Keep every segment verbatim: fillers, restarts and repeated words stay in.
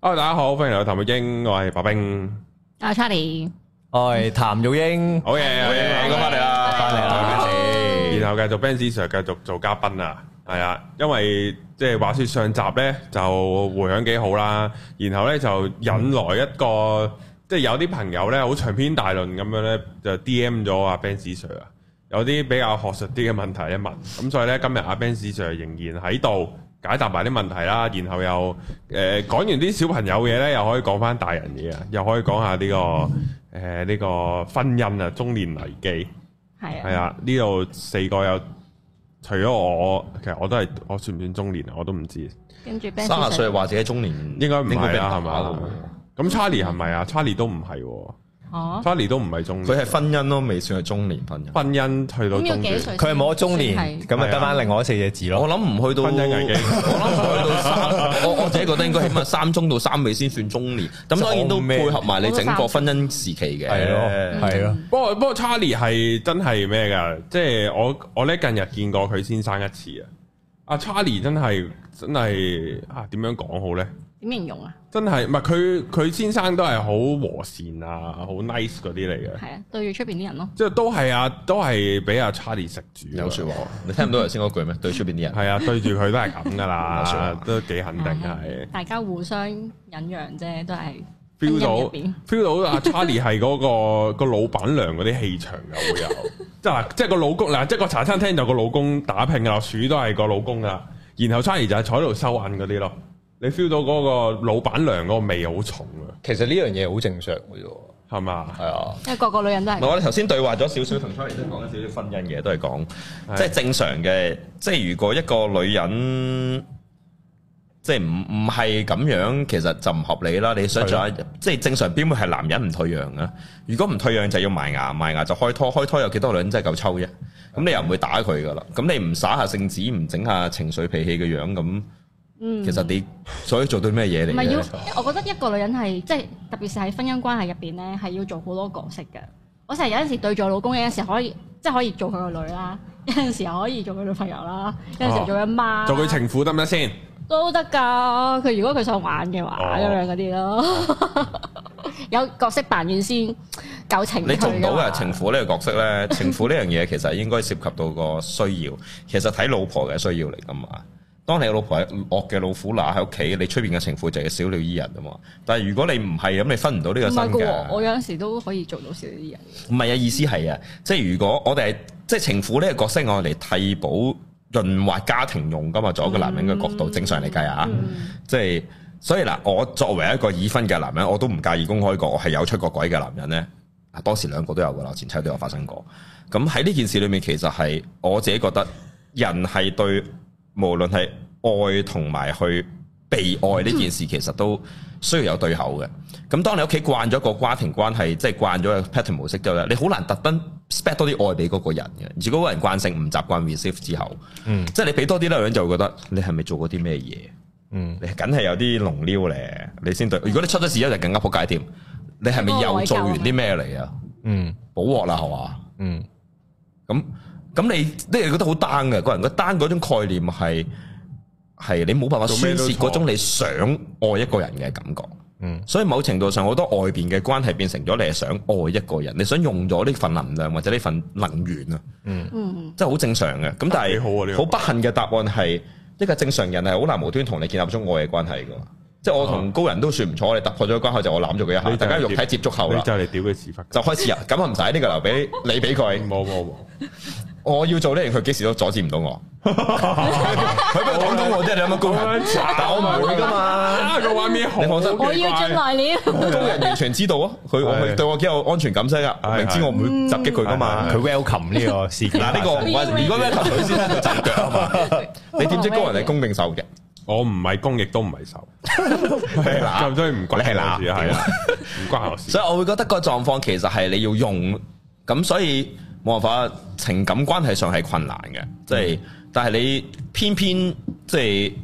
Hello， 大家好，歡迎嚟到談育鷹，我係白兵， 阿 Charlie， 我係譚育鷹， 好嘢，好嘢，應該翻嚟啦， 翻嚟啦， 然後繼續 Benz Sir 繼續做嘉賓啊，係啊，因為即係話說上集咧就回響幾好啦，然後咧就引來一個即係有啲朋友咧好長篇大論咁樣咧就 D M 咗阿 Benz Sir 啊，有啲比較學術啲嘅問題一問，咁所以咧今日阿 Benz Sir 仍然喺度解答埋啲問題啦，然後又誒講完啲小朋友嘢咧，又可以講翻大人嘢啊，又可以講下呢個誒呢個婚姻啊，中年危機係啊，係啊，呢度四個有除咗我，其實我都係我算唔算中年啊？我都唔知。 跟住三十歲或者中年應該唔係啦，係嘛？咁 Charlie 係咪啊 ？Charlie 都唔係喎。哦，Charlie 都唔係中年， 佢係婚姻咯，未算係中年婚姻。 婚姻去到中年， 佢係冇咗中年，咁咪得翻另外四隻字咯。我諗唔去到婚姻危機， 我諗唔去到三，我我自己覺得應該起碼三中到三尾先算中年。咁當然都配合埋你整個婚姻時期嘅， 係咯，係咯。不過不過 Charlie 係真係咩㗎？即係我我咧近日見過佢先生一次啊。阿 Charlie 真係真係啊，點樣講好咧？ 點形容啊？ 真係唔係佢佢先生都係好和善啊，好 nice 嗰啲嚟嘅。係啊，對住出邊啲人咯。即係都係啊，都係俾阿 Charlie 食住。 有説話，你聽唔到頭先嗰句咩？對出邊啲人。係啊，對住佢都係咁噶啦，都幾肯定係。 大家互相忍讓啫，都係 feel 到 feel 到阿 Charlie 係嗰個個老闆娘嗰啲氣場又會有。即係嗱，即係個老公嗱，即係個茶餐廳就個老公打拼啊，鼠都係個老公啊，然後 Charlie 就係坐喺度收銀嗰啲咯。你 feel 到嗰個老闆娘嗰個味好重啊！ 其實呢樣嘢好正常嘅啫， 係嘛？係啊， 因為個個女人都係。 我哋頭先對話咗少少，同 Charlie 都講咗少少婚姻嘅，都係講即係正常嘅。即係如果一個女人即係唔唔係咁樣，其實就唔合理啦。你想象下，即係正常邊會係男人唔退讓啊？如果唔退讓就要埋牙，埋牙就開拖，開拖有幾多女人真係夠抽啫？咁你又唔會打佢噶啦？咁你唔耍下聖子，唔整下情緒脾氣嘅樣咁？嗯，其實你所以做到咩嘢嚟？唔係要， 我覺得一個女人係即係特別是喺婚姻關係入邊咧，係要做好多角色嘅。我成日有陣時對住我老公，有陣時可以即係可以做佢個女啦，有陣時又可以做佢女朋友啦，有陣時做佢媽， 做佢情婦得唔得先？ 都得㗎。佢如果佢想玩嘅話，咁樣嗰啲咯，有角色扮演先夠情。 你做唔到嘅情婦呢個角色咧，情婦呢樣嘢其實應該涉及到個需要，其實睇老婆嘅需要嚟㗎嘛。當你個老婆係惡嘅老虎乸喺屋企，你出邊嘅情婦就係小鳥依人啊嘛。但係如果你唔係咁，你分唔到呢個身嘅。 我有陣時都可以做到小鳥依人。 唔係啊，意思係啊，即係如果我哋係即係情婦呢個角色，我嚟替補潤滑家庭用噶嘛，作為一個男人嘅角度，嗯、正常嚟計啊，嗯、即係所以嗱，我作為一個已婚嘅男人，我都唔介意公開過我係有出過軌嘅男人咧。啊，當時兩個都有噶啦，前妻都有發生過。咁喺呢件事裏面，其實係我自己覺得人係對。無論係愛同埋去被愛呢件事，其實都需要有對口嘅。咁當你屋企慣咗個家庭關係，即係慣咗個 pattern 模式之後咧，你好難特登 spec 多啲愛俾嗰個人嘅。如果嗰個人慣性唔習慣 receive 之後，嗯，即係你俾多啲咧，個人就會覺得你係咪做過啲咩嘢？嗯，你梗係有啲龍撩咧，你先對。如果你出咗事，一就更加仆街添。你係咪又做完啲咩嚟啊？嗯，補鑊啦，係嘛？嗯，咁。咁你你係覺得好 down 嘅，個人個 down 嗰種概念係係你冇辦法宣泄嗰種你想愛一個人嘅感覺。嗯，所以某程度上好多外邊嘅關係變成咗你係想愛一個人，你想用咗呢份能量或者呢份能源啊。嗯嗯，即係好正常嘅。咁但係好不幸嘅答案係一個正常人係好難無端同你建立咗愛嘅關係㗎。即係我同高人都算唔錯，我哋突破咗關口就我攬咗佢一下，大家肉體接觸後啦， 就嚟屌佢屎忽， 就開始啊！咁啊唔使呢個留俾你俾佢，冇冇冇。我要做呢樣，佢幾時都阻止唔到我。佢俾我講到我啫，你有乜高人？但我唔會噶嘛。個畫面好，你放心。 我要進來了。 高人完全知道啊，佢佢對我幾有安全感先啊，明知我唔會襲擊佢噶嘛。佢 welcome 呢個事件。嗱呢個唔關，如果 welcome 佢先就斬腳啊嘛。你點知高人係攻定受嘅？ 我唔係攻，亦都唔係受。係啦，咁所以唔關你事係啦，唔關我事。 所以我會覺得個狀況其實係你要用，咁所以。冇辦法，情感關係上係困難嘅，即係，但係你偏偏即係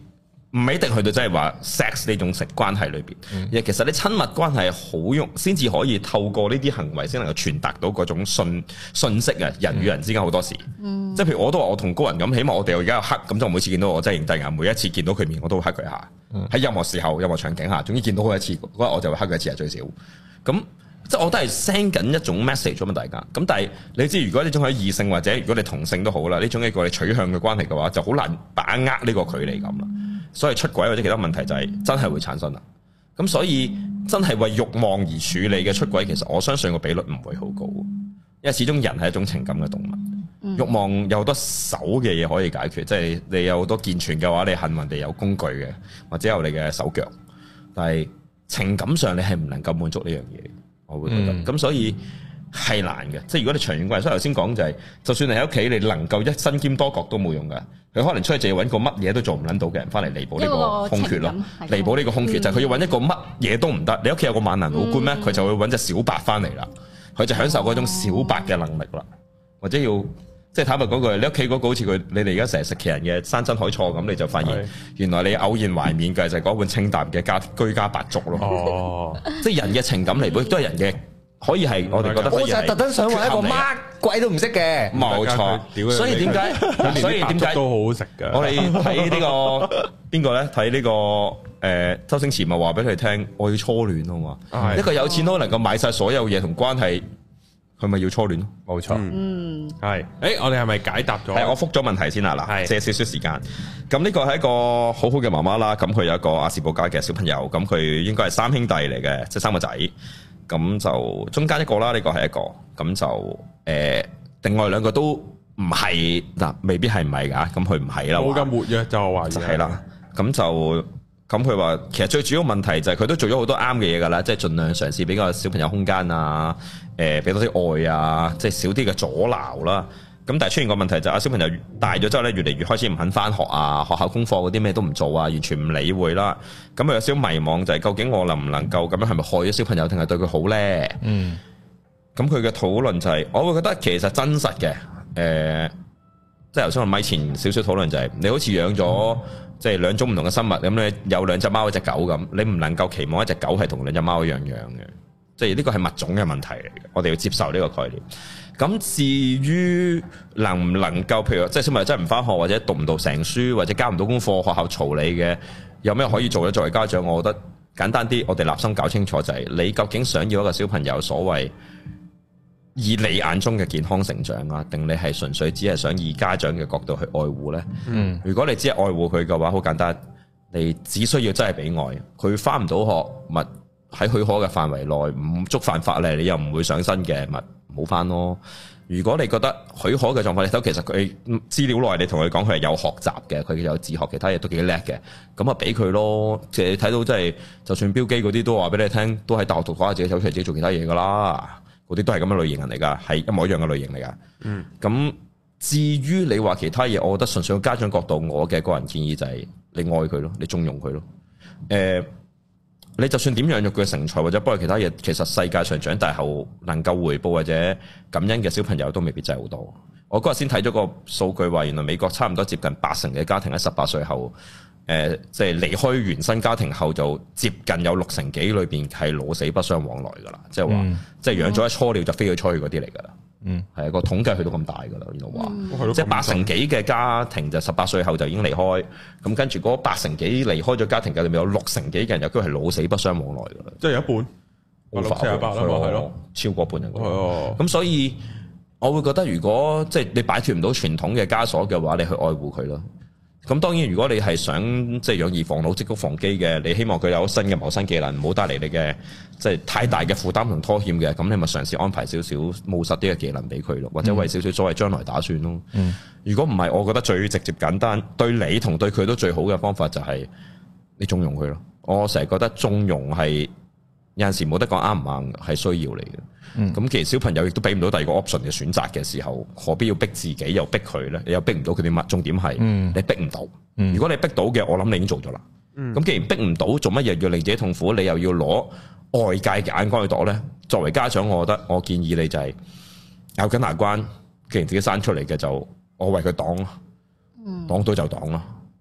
唔一定去到真係話 sex 呢種食關係裏邊，嗯、其實你親密關係好用，先至可以透過呢啲行為先能夠傳達到嗰種信信息啊！人與人之間好多時，嗯、即係譬如我都話我同高人咁，起碼我哋而家有黑，咁就每次見到我真係認低眼，每一次見到佢面我都會黑佢下，喺、嗯、任何時候、任何場景下，總之見到佢一次，嗰日我就會黑佢一次係最少。咁即係我都係 send 緊一種 message 咁啊，大家。咁但係你知，如果呢種係異性或者如果你同性都好啦，呢種一個你取向嘅關係嘅話，就好難把握呢個距離感啦。所以出軌或者其他問題就係真係會產生啦。咁所以真係為慾望而處理嘅出軌，其實我相信個比率唔會好高，因為始終人係一種情感嘅動物。嗯、慾望有好多手嘅嘢可以解決，即係你有好多健全嘅話，你幸運地有工具嘅，或者有你嘅手腳。但係情感上你係唔能夠滿足呢樣嘢，我會覺得。咁、嗯、所以係難嘅。即係如果你長遠關係，所以頭先講就係、是，就算你喺屋企，你能夠一身兼多角都冇用㗎。佢可能出去就要揾個乜嘢都做唔撚到嘅人翻嚟彌補呢個空缺咯，彌補呢個空缺、嗯、就係佢要揾一個乜嘢都唔得。你屋企有個萬能老官咩？佢、嗯、就會揾隻小白翻嚟啦，佢就享受嗰種小白嘅能力啦，哦、或者要即係坦白講句，你屋企嗰個好似佢，你哋而家成日食奇人嘅山珍海錯咁，你就發現原來你偶然懷緬嘅就係嗰碗清淡嘅家居家白粥咯。哦，即係人嘅情感彌補亦都係人嘅。可以係，我哋覺得可以係。我就特登想話一個乜鬼都唔識嘅，冇錯。所以點解？所以點解都好好食㗎？ 我哋睇呢個邊個咧？睇呢個誒周星馳咪話俾佢聽，我要初戀啊嘛。一個有錢佬能夠買晒所有嘢同關係，佢咪要初戀咯？ 冇錯。嗯，係。誒，我哋係咪解答咗？係，我覆咗問題先啦。嗱，借少少時間。咁呢個係一個好好嘅媽媽啦。咁佢有一個亞氏保加嘅小朋友。咁佢應該係三兄弟嚟嘅，即係三個仔。咁就中間一個啦，呢、這個係一個，咁就誒、呃，另外兩個都唔係嗱，未必係唔係噶，咁佢唔係啦， 冇咁活躍就話就係啦，咁就咁佢話，其實最主要問題就係佢都做咗好多啱嘅嘢噶啦，即係盡量嘗試俾個小朋友空間啊，誒、呃，俾多啲愛啊，即係少啲嘅阻撓啦。咁但係出現個問題就係，小朋友大咗之後咧，越嚟越開始唔肯翻學啊，學校功課嗰啲咩都唔做啊，完全唔理會啦。咁佢有少少迷茫，就係究竟我能唔能夠咁樣，係咪害咗小朋友，定係對佢好咧？嗯。咁佢嘅討論就係、是，我會覺得其實真實嘅，誒、呃，即係頭先我咪前少少討論就係、是，你好似養咗即係兩種唔同嘅生物，咁你有兩隻貓一隻狗咁，你唔能夠期望一隻狗係同兩隻貓一樣樣嘅，即係呢個係物種嘅問題嚟嘅，我哋要接受呢個概念。咁至於能唔能夠，譬如即係小朋友真係唔返學，或者讀唔到成書，或者交唔到功課，學校嘈你嘅，有咩可以做咧？作為家長，我覺得簡單啲，我哋立心搞清楚就係、是、你究竟想要一個小朋友所謂以你眼中嘅健康成長啊，定你係純粹只係想以家長嘅角度去愛護呢？嗯，如果你只係愛護佢嘅話，好簡單，你只需要真係俾愛，佢返唔到學，咪喺許可嘅範圍內，唔觸犯法例，你又唔會上身嘅，咪冇翻咯。如果你覺得許可嘅狀況，你睇其實佢資料內你同佢講佢係有學習嘅，佢有自學其他嘢都幾叻嘅，咁啊俾佢咯。即係你睇到即係，就算標機嗰啲都話俾你聽，都喺大學讀下自己走出嚟自己做其他嘢噶啦。嗰啲都係咁嘅類型人嚟噶，係一模一樣嘅類型嚟噶。嗯，咁至於你話其他嘢，我覺得純粹個家長角度，我嘅個人建議就係你愛佢咯，你縱容佢咯。誒、呃。你就算點養育佢嘅成才，或者幫佢其他嘢，其實世界上長大後能夠回報或者感恩嘅小朋友都未必真係好多。我嗰日先睇咗個數據話，原來美國差唔多接近八成嘅家庭喺十八歲後，誒、呃，即係離開原生家庭後，就接近有六成幾裏邊係老死不相往來噶啦，即係話，嗯、即係養咗一初料就飛咗出去嗰啲嚟噶啦。嗯，係啊，個統計去到咁大噶啦，原來話，嗯、即係八成幾嘅家庭就十八歲後就已經離開，咁跟住嗰八成幾離開咗家庭嘅裏面有六成幾嘅人有機會係老死不相往來噶啦， 即係有一半，六七十八啦，係咯， 超過半人。哦，咁所以我會覺得，如果即係你擺脫唔到傳統嘅枷鎖嘅話，你去愛護佢咯。咁當然，如果你係想即係養兒防老、積穀防饑嘅，你希望佢有新嘅謀生技能，唔好帶嚟你嘅即係太大嘅負擔同拖欠嘅，咁你咪嘗試安排少少務實啲嘅技能俾佢咯，或者為少少所謂將來打算咯。嗯、如果唔係，我覺得最直接簡單，對你同對佢都最好嘅方法就係你縱容佢咯。我成日覺得縱容係有陣時冇得講啱唔啱，係需要嚟嘅。咁、嗯、其實小朋友亦都俾唔到第二個 option 嘅選擇嘅時候，何必要逼自己又逼佢咧？你又逼唔到佢啲乜？重點係、嗯、你逼唔到。嗯、如果你逼到嘅，我諗你已經做咗啦。咁、嗯、既然逼唔到，做乜嘢要令自己痛苦？你又要攞外界嘅眼光去度咧？作為家長，我覺得我建議你就係咬緊牙關，既然自己生出嚟嘅就我為佢擋，擋到就擋啦。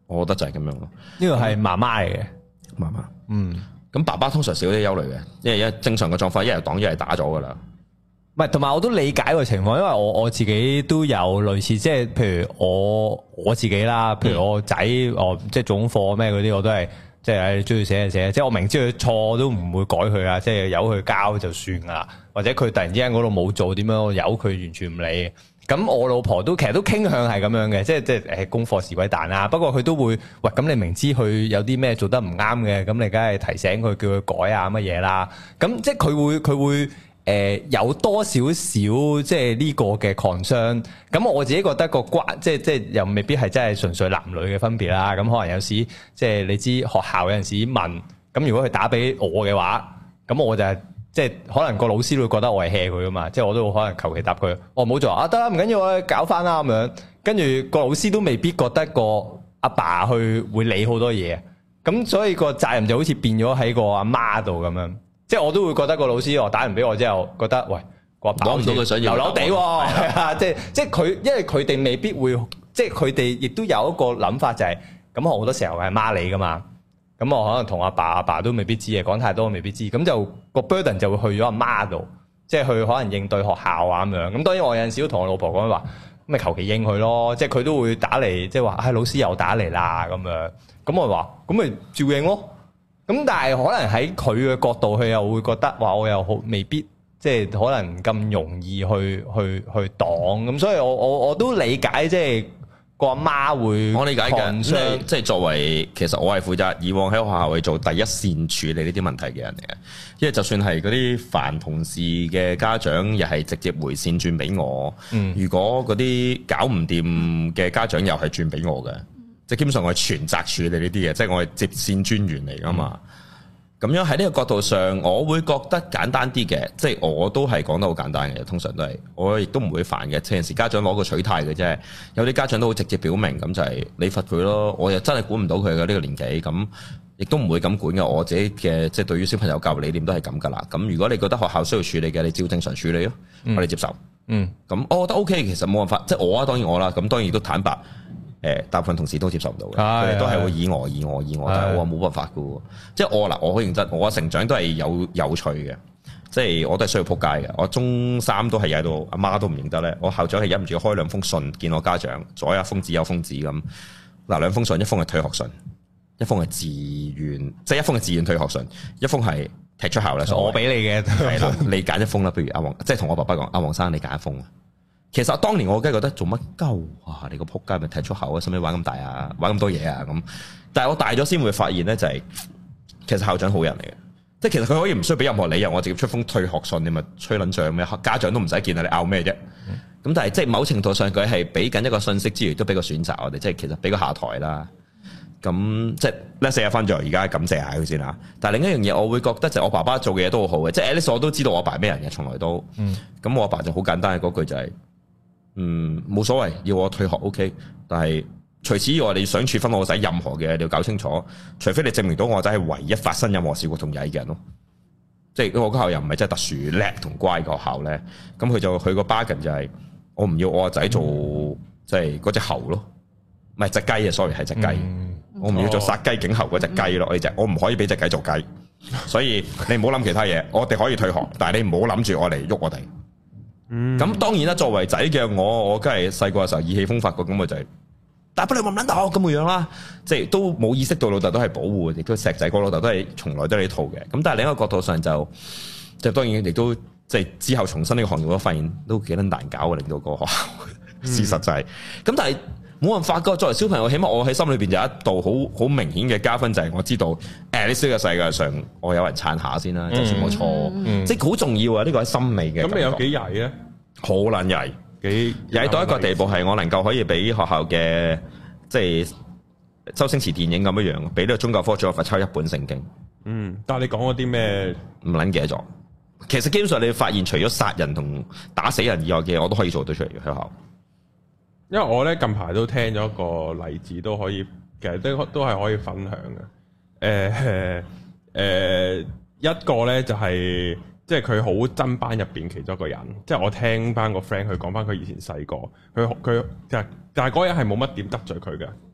我覺得就係咁樣咯。 呢個係媽媽嚟嘅， 媽媽。 嗯， 咁爸爸通常少啲憂慮嘅，因為一正常嘅狀況，一係擋一係打咗噶啦。 唔係，同埋我都理解個情況，因為我我自己都有類似，即係譬如我我自己啦，譬如我仔，我即係做功課咩嗰啲，我都係即係中意寫就寫，即係我明知佢錯都唔會改佢啊，即係由佢交就算噶啦，或者佢突然之間嗰度冇做點樣，我由佢完全唔理。咁我老婆都其實都傾向係咁樣嘅，即係即係誒功課是鬼蛋啦。不過佢都會喂，咁你明知佢有啲咩做得唔啱嘅，咁你梗係提醒佢，叫佢改啊乜嘢啦。咁即係佢會佢會誒、呃、有多少少即係呢個嘅 concern。咁我自己覺得個關即係即係又未必係真係純粹男女嘅分別啦。咁可能有時即係你知學校有陣時問，咁如果佢打俾我嘅話，咁我就係。即係可能個老師都會覺得我係 hea 佢噶嘛，即係我都可能求其答佢，我唔好做啊，得啦，唔緊要，我搞翻啦咁樣。跟住個老師都未必覺得個阿爸去會理好多嘢，咁所以個責任就好似變咗喺個阿媽度咁樣。即係我都會覺得個老師我打完俾我之後，覺得喂個阿爸講唔到佢想要流流地喎，係啊，即係即係佢，因為佢哋未必會，即係佢哋亦都有一個諗法就係、是，咁好多時候係媽你噶嘛。咁我可能同阿爸阿爸都未必知嘅，講太多未必知，咁就個 burden 就會去咗阿媽度，即係去可能應對學校啊咁樣。咁當然我有陣時都同我老婆講話，咁咪求其應佢咯，即係佢都會打嚟，即係話，唉老師又打嚟啦咁樣。咁我話，咁咪照應咯。咁但係可能喺佢嘅角度，佢又會覺得話我又好未必，即係可能咁容易去去去擋。咁所以我我我都理解即係。個阿媽會，我理解嘅，即係作為其實我係負責以往喺學校去做第一線處理呢啲問題嘅人嚟嘅，因為就算係嗰啲煩同事嘅家長，又係直接回線轉俾我。嗯、如果嗰啲搞唔掂嘅家長，又係轉俾我嘅，即係基本上我係全責處理呢啲嘢，即係我係接線專員嚟噶嘛。咁樣喺呢個角度上，我會覺得簡單啲嘅，即係我都係講得好簡單嘅，通常都係，我亦都唔會煩嘅。有陣時家長攞個取態嘅啫，有啲家長都好直接表明，咁就係你罰佢咯。我又真係管唔到佢嘅呢個年紀，咁亦都唔會咁管嘅。我自己嘅即係對於小朋友教育理念都係咁噶啦。咁如果你覺得學校需要處理嘅，你照正常處理咯，嗯、我哋接受。嗯，咁我覺得 OK，其實冇辦法，即係我啊，當然我啦，咁當然都坦白。誒，大部分同事都接受唔到嘅，佢哋都係會以我、以我、以我，但係我話冇辦法嘅喎。即係我嗱，我好認真，我嘅成長都係有有趣嘅，即係我都係需要撲街嘅。我中三都係曳到阿媽都唔認得咧。我校長係忍唔住開兩封信見我家長，左有封紙右封紙咁。嗱，兩封信，一封係退學信，一封係自願，即係一封係自願退學信，一封係踢出校咧。我俾你嘅係啦，你揀一封啦。不如阿黃，即係同我爸爸講，阿黃生你揀一封啊。其實當年我梗係覺得做乜鳩啊！你個仆街咪踢出口啊！使唔使玩咁大啊？玩咁多嘢啊咁。但係我大咗先會發現咧，就係、是、其實校長好人嚟嘅，即係其實佢可以唔需要俾任何理由，我直接出封退學信，你咪吹撚脹咩？家長都唔使見啊！你拗咩啫？咁、嗯、但係即係某程度上佢係俾緊一個信息之餘，都俾個選擇我哋，即係其實俾個下台啦。咁即係咧，四日翻咗，而家感謝下佢先啦。但係另一樣嘢，我會覺得就係我爸爸做嘅嘢都好好嘅，即係 at least 我都知道我爸係咩人嘅，從來都。咁、嗯、我阿爸就好簡單嘅嗰句就係、是。嗯，冇所謂，要我退學 OK，但係除此以外，你想處分我仔任何嘅，你要搞清楚，除非你證明到我仔係唯一發生任何事故同曳嘅人咯。即係我個校又唔係真係特殊叻同乖嘅學校咧，咁佢就佢個 bargain 就係、是、我唔要我個仔做即係嗰隻猴咯，唔係隻雞啊 sorry 係隻雞，嗯、我唔要做殺雞儆猴嗰隻雞咯，呢隻、嗯、我唔可以俾隻雞做雞，所以你唔好諗其他嘢，我哋可以退學，但係你唔好諗住我嚟喐我哋。咁、嗯、當然啦，作為仔嘅我，我梗係細個嘅時候意氣風發過，咁我就係、是，大不了唔撚大學咁嘅樣啦，即係都冇意識到老豆都係保護，亦都錫仔個老豆都係從來都係呢套嘅。咁但係另一個角度上就，就當然亦都即係之後重新呢個行業，我發現都幾撚難搞啊，令到個學校。嗯、事實就係、是，咁但係冇辦法噶。作為小朋友，起碼我喺心裏邊有一道好好明顯嘅加分，就係、是、我知道，誒呢個世界上我有人撐下先啦，就算我錯，嗯嗯、即係好重要啊！呢、這個係心理嘅。咁你有幾曳咧？好撚曳，幾曳到一個地步係我能夠可以俾學校嘅即係周星馳電影咁樣樣，俾呢個宗教科仲有罰抄一本聖經。嗯，但係你講嗰啲咩唔撚記得咗？其實基本上你會發現，除咗殺人同打死人以外嘅嘢，我都可以做到出嚟嘅學校。因為我咧近排都聽咗一個例子，都可以其實都都係可以分享嘅。誒、呃、誒、呃，一個咧就係、是。即係佢好憎班入邊其中一個人，即係我聽翻個 friend 佢講翻佢以前細個，佢佢就但係嗰人係冇乜點得罪佢嘅，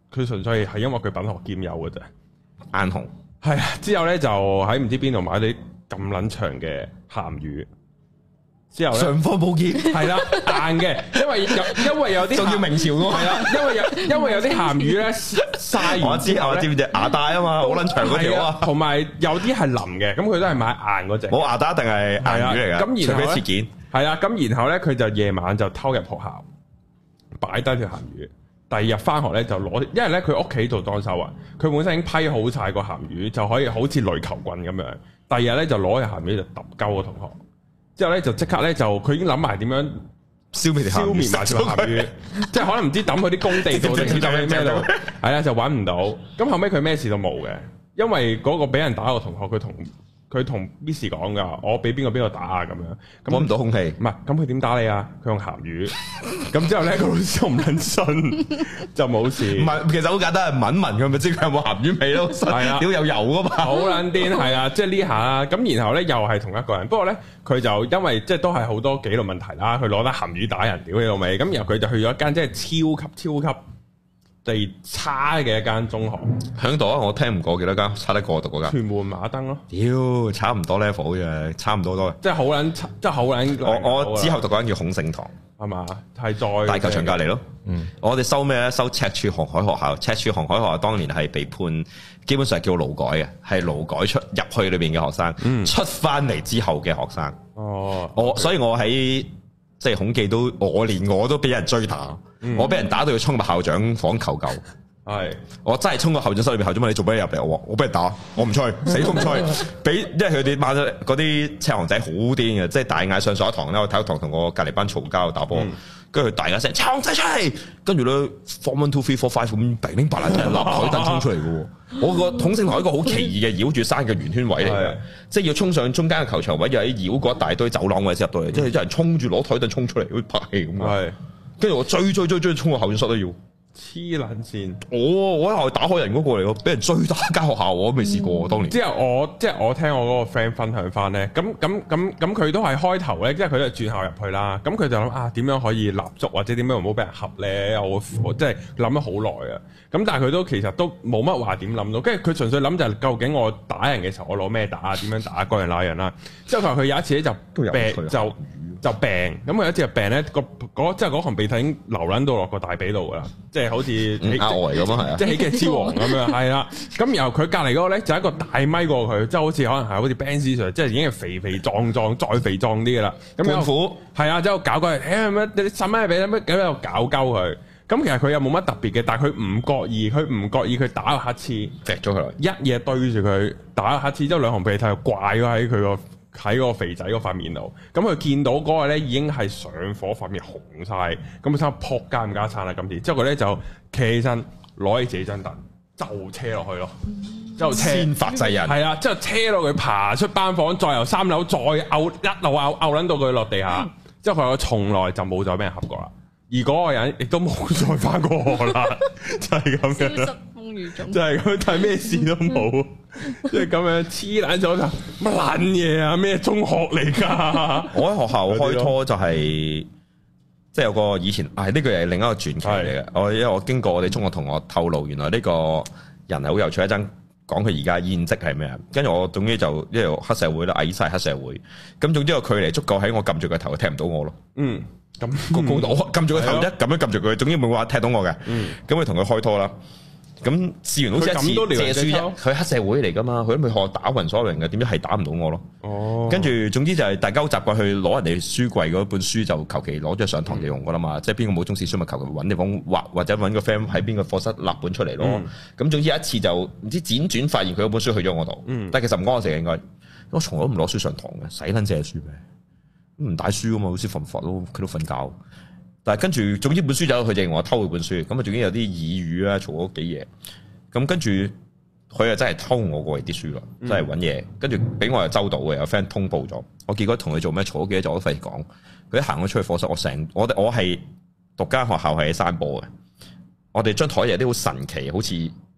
佢純粹係因為佢品學兼優嘅啫。 眼紅係啊，之後咧就喺唔知邊度買啲咁撚長嘅鹹魚。之後咧， 尚方寶劍係啦，硬嘅，因為有因為有啲仲要明朝嘅， 係啦，因為有因為有啲鹹魚咧曬完之後咧， 我知唔知牙帶啊嘛，好撚長嗰條啊， 同埋有啲係腍嘅，咁佢都係買硬嗰隻。冇牙帶一定係硬魚嚟㗎， 咁然後切件係啦，咁然後咧佢就夜晚就偷入學校，擺低條鹹魚。第二日翻學咧就攞，因為咧佢屋企做裝修啊，佢本身已經批好晒個鹹魚，就可以好似壘球棍咁樣。第二日咧就攞條鹹魚就揼鳩個同學。之後咧就即刻咧就佢已經諗埋點樣消滅消滅埋條鹹魚，即係可能唔知抌去啲工地度定唔知抌喺咩度，係啦就揾唔到。咁後尾佢咩事都冇嘅，因為嗰個俾人打個同學佢同佢同 Miss 講噶，我俾邊個邊個打啊咁樣， 揾唔到空氣。 唔係，咁佢點打你啊？佢用鹹魚。咁之後咧個老師唔撚信，就冇事。 唔係，其實好簡單，係聞聞佢咪知佢有冇鹹魚味咯。係啊，屌有油噶嘛， 好撚癲係啊！即係呢下啦。咁然後咧又係同一個人，不過咧佢就因為即係都係好多紀律問題啦，佢攞得鹹魚打人，屌你老味。咁然後佢就去咗一間即係超級超級地差嘅一間中學， 響度啊！我聽唔過幾多間，差得過讀嗰間。 屯門馬燈咯， 屌，差唔多 level 嘅，差唔多多。 即係好撚，即係好撚。 我我之後讀嗰間叫孔聖堂， 係嘛？係再大球場隔離咯。嗯，我哋收咩咧？收赤柱航海學校。赤柱航海學校當年係被判，基本上係叫勞改嘅，係勞改出入去裏邊嘅學生，嗯、出翻嚟之後嘅學生。哦，我所以我喺。即係孔記都，我連我都俾人追打，嗯、我俾人打到要衝入校長房求救。係是，我真係衝過校長室裏邊，校長問你做咩入嚟？我話我俾人打，我唔吹，死都唔吹。俾，因為佢哋買咗嗰啲赤行仔好癲嘅，即係大嗌上上一堂咧，我體育堂同我隔籬班嘈交打波，跟住佢大嗌聲赤行仔出嚟，跟住咧 form one two three four five 咁零零八爛立台燈衝出嚟嘅。我個統勝台一個好奇異嘅繞住山嘅圓圈位嚟嘅，是即係要衝上中間嘅球場位，又喺繞過一大堆走廊位先入到嚟，即係一人衝住攞台凳衝出嚟，好似拍戲咁啊！跟住我追追追追衝個校長室都要黐撚線，我我喺學校打開人嗰個嚟咯，俾人追打間學校我都未試過，嗯、當年。之後我即係我聽我嗰個 friend 分享翻咧，咁咁咁咁佢都係開頭咧，即係佢都係轉校入去啦。咁佢就諗啊，點樣可以立足或者點樣唔好俾人合咧？我我即係諗咗好耐啊。咁但係佢都其實都冇乜話點諗到，跟住佢純粹諗就係究竟我打人嘅時候我攞咩打，點樣打嗰樣那樣啦。之後佢話佢有一次咧就病就就病，咁佢有一次就病咧個嗰即係嗰行鼻涕已經流撚到落個大髀度噶啦，即係好似額外咁啊，係啊， 即係喜劇之王咁樣，係啦。咁然後佢隔離嗰個咧就一個大咪過佢，即係好似可能係好似 Ben Sir，即係已經係肥肥壯壯再肥壯啲噶啦。咁有苦係啊，之後搞佢，誒乜你使乜俾乜咁喺度搞鳩佢。咁其實佢又冇乜特別嘅，但係佢唔覺意，佢唔覺意佢打個乞嗤， 踢咗佢，一嘢對住佢打個乞嗤，之後兩行鼻涕就掛咗喺佢個喺個肥仔嗰塊面度。咁佢見到嗰個咧已經係上火，塊面紅晒，咁佢差唔多撲街唔加餐啦今次。之後佢咧就企起身，攞起自己張凳就車落去咯，之後車先發制人， 係啊，之後車到佢爬出班房，再由三樓再拗一路拗拗撚到佢落地下。之後佢話從來就冇再俾人合過啦。而嗰個人亦都冇再翻過學啦，就係咁樣啦。風雨中就係咁，但係咩事都冇，即係咁樣黐爛咗就乜撚嘢啊？咩中學嚟㗎？我喺學校開拖就係、是、即係有個以前，係呢個係另一個傳奇嚟嘅。是我因為我經過我哋中學同學透露，原來呢個人係好有趣，一陣講佢而家現職係咩啊？跟住我總之就因為黑社會啦，矮晒黑社會，咁總之個距離足夠喺我撳住個頭，佢踢唔到我咯。嗯。咁個高度，我撳住個頭一咁樣撳住佢，總之冇話踢到我嘅。咁佢同佢開拖啦。咁試完好似一次借書啫，佢黑社會嚟噶嘛，佢都未學打暈所有人嘅，點知係打唔到我咯。哦。跟住總之就係大家好習慣去攞人哋書櫃嗰本書，就求其攞咗上堂就用噶啦嘛。即係邊個冇中史書咪求其揾地方畫，或者揾個 friend 喺邊個課室立本出嚟咯。咁總之一次就唔知輾轉發現佢嗰本書去咗我度。但係其實唔關我事嘅應該，我從來都唔攞書上堂嘅，使撚借書咩？唔帶書噶嘛，好似瞓佛咯，佢都瞓覺。但係跟住，總之本書就佢就認我偷佢本書，咁啊，仲有啲耳語啊，嘈咗幾嘢。咁跟住佢又真係偷我過嚟啲書咯，真係揾嘢。跟住俾我又周到嘅，有 friend 通報咗。我結果同佢做咩嘈咗幾嘢，就我都費事講。佢一行咗出去課室，我成我我係讀間學校係喺山坡嘅。我哋張台有啲好神奇，好似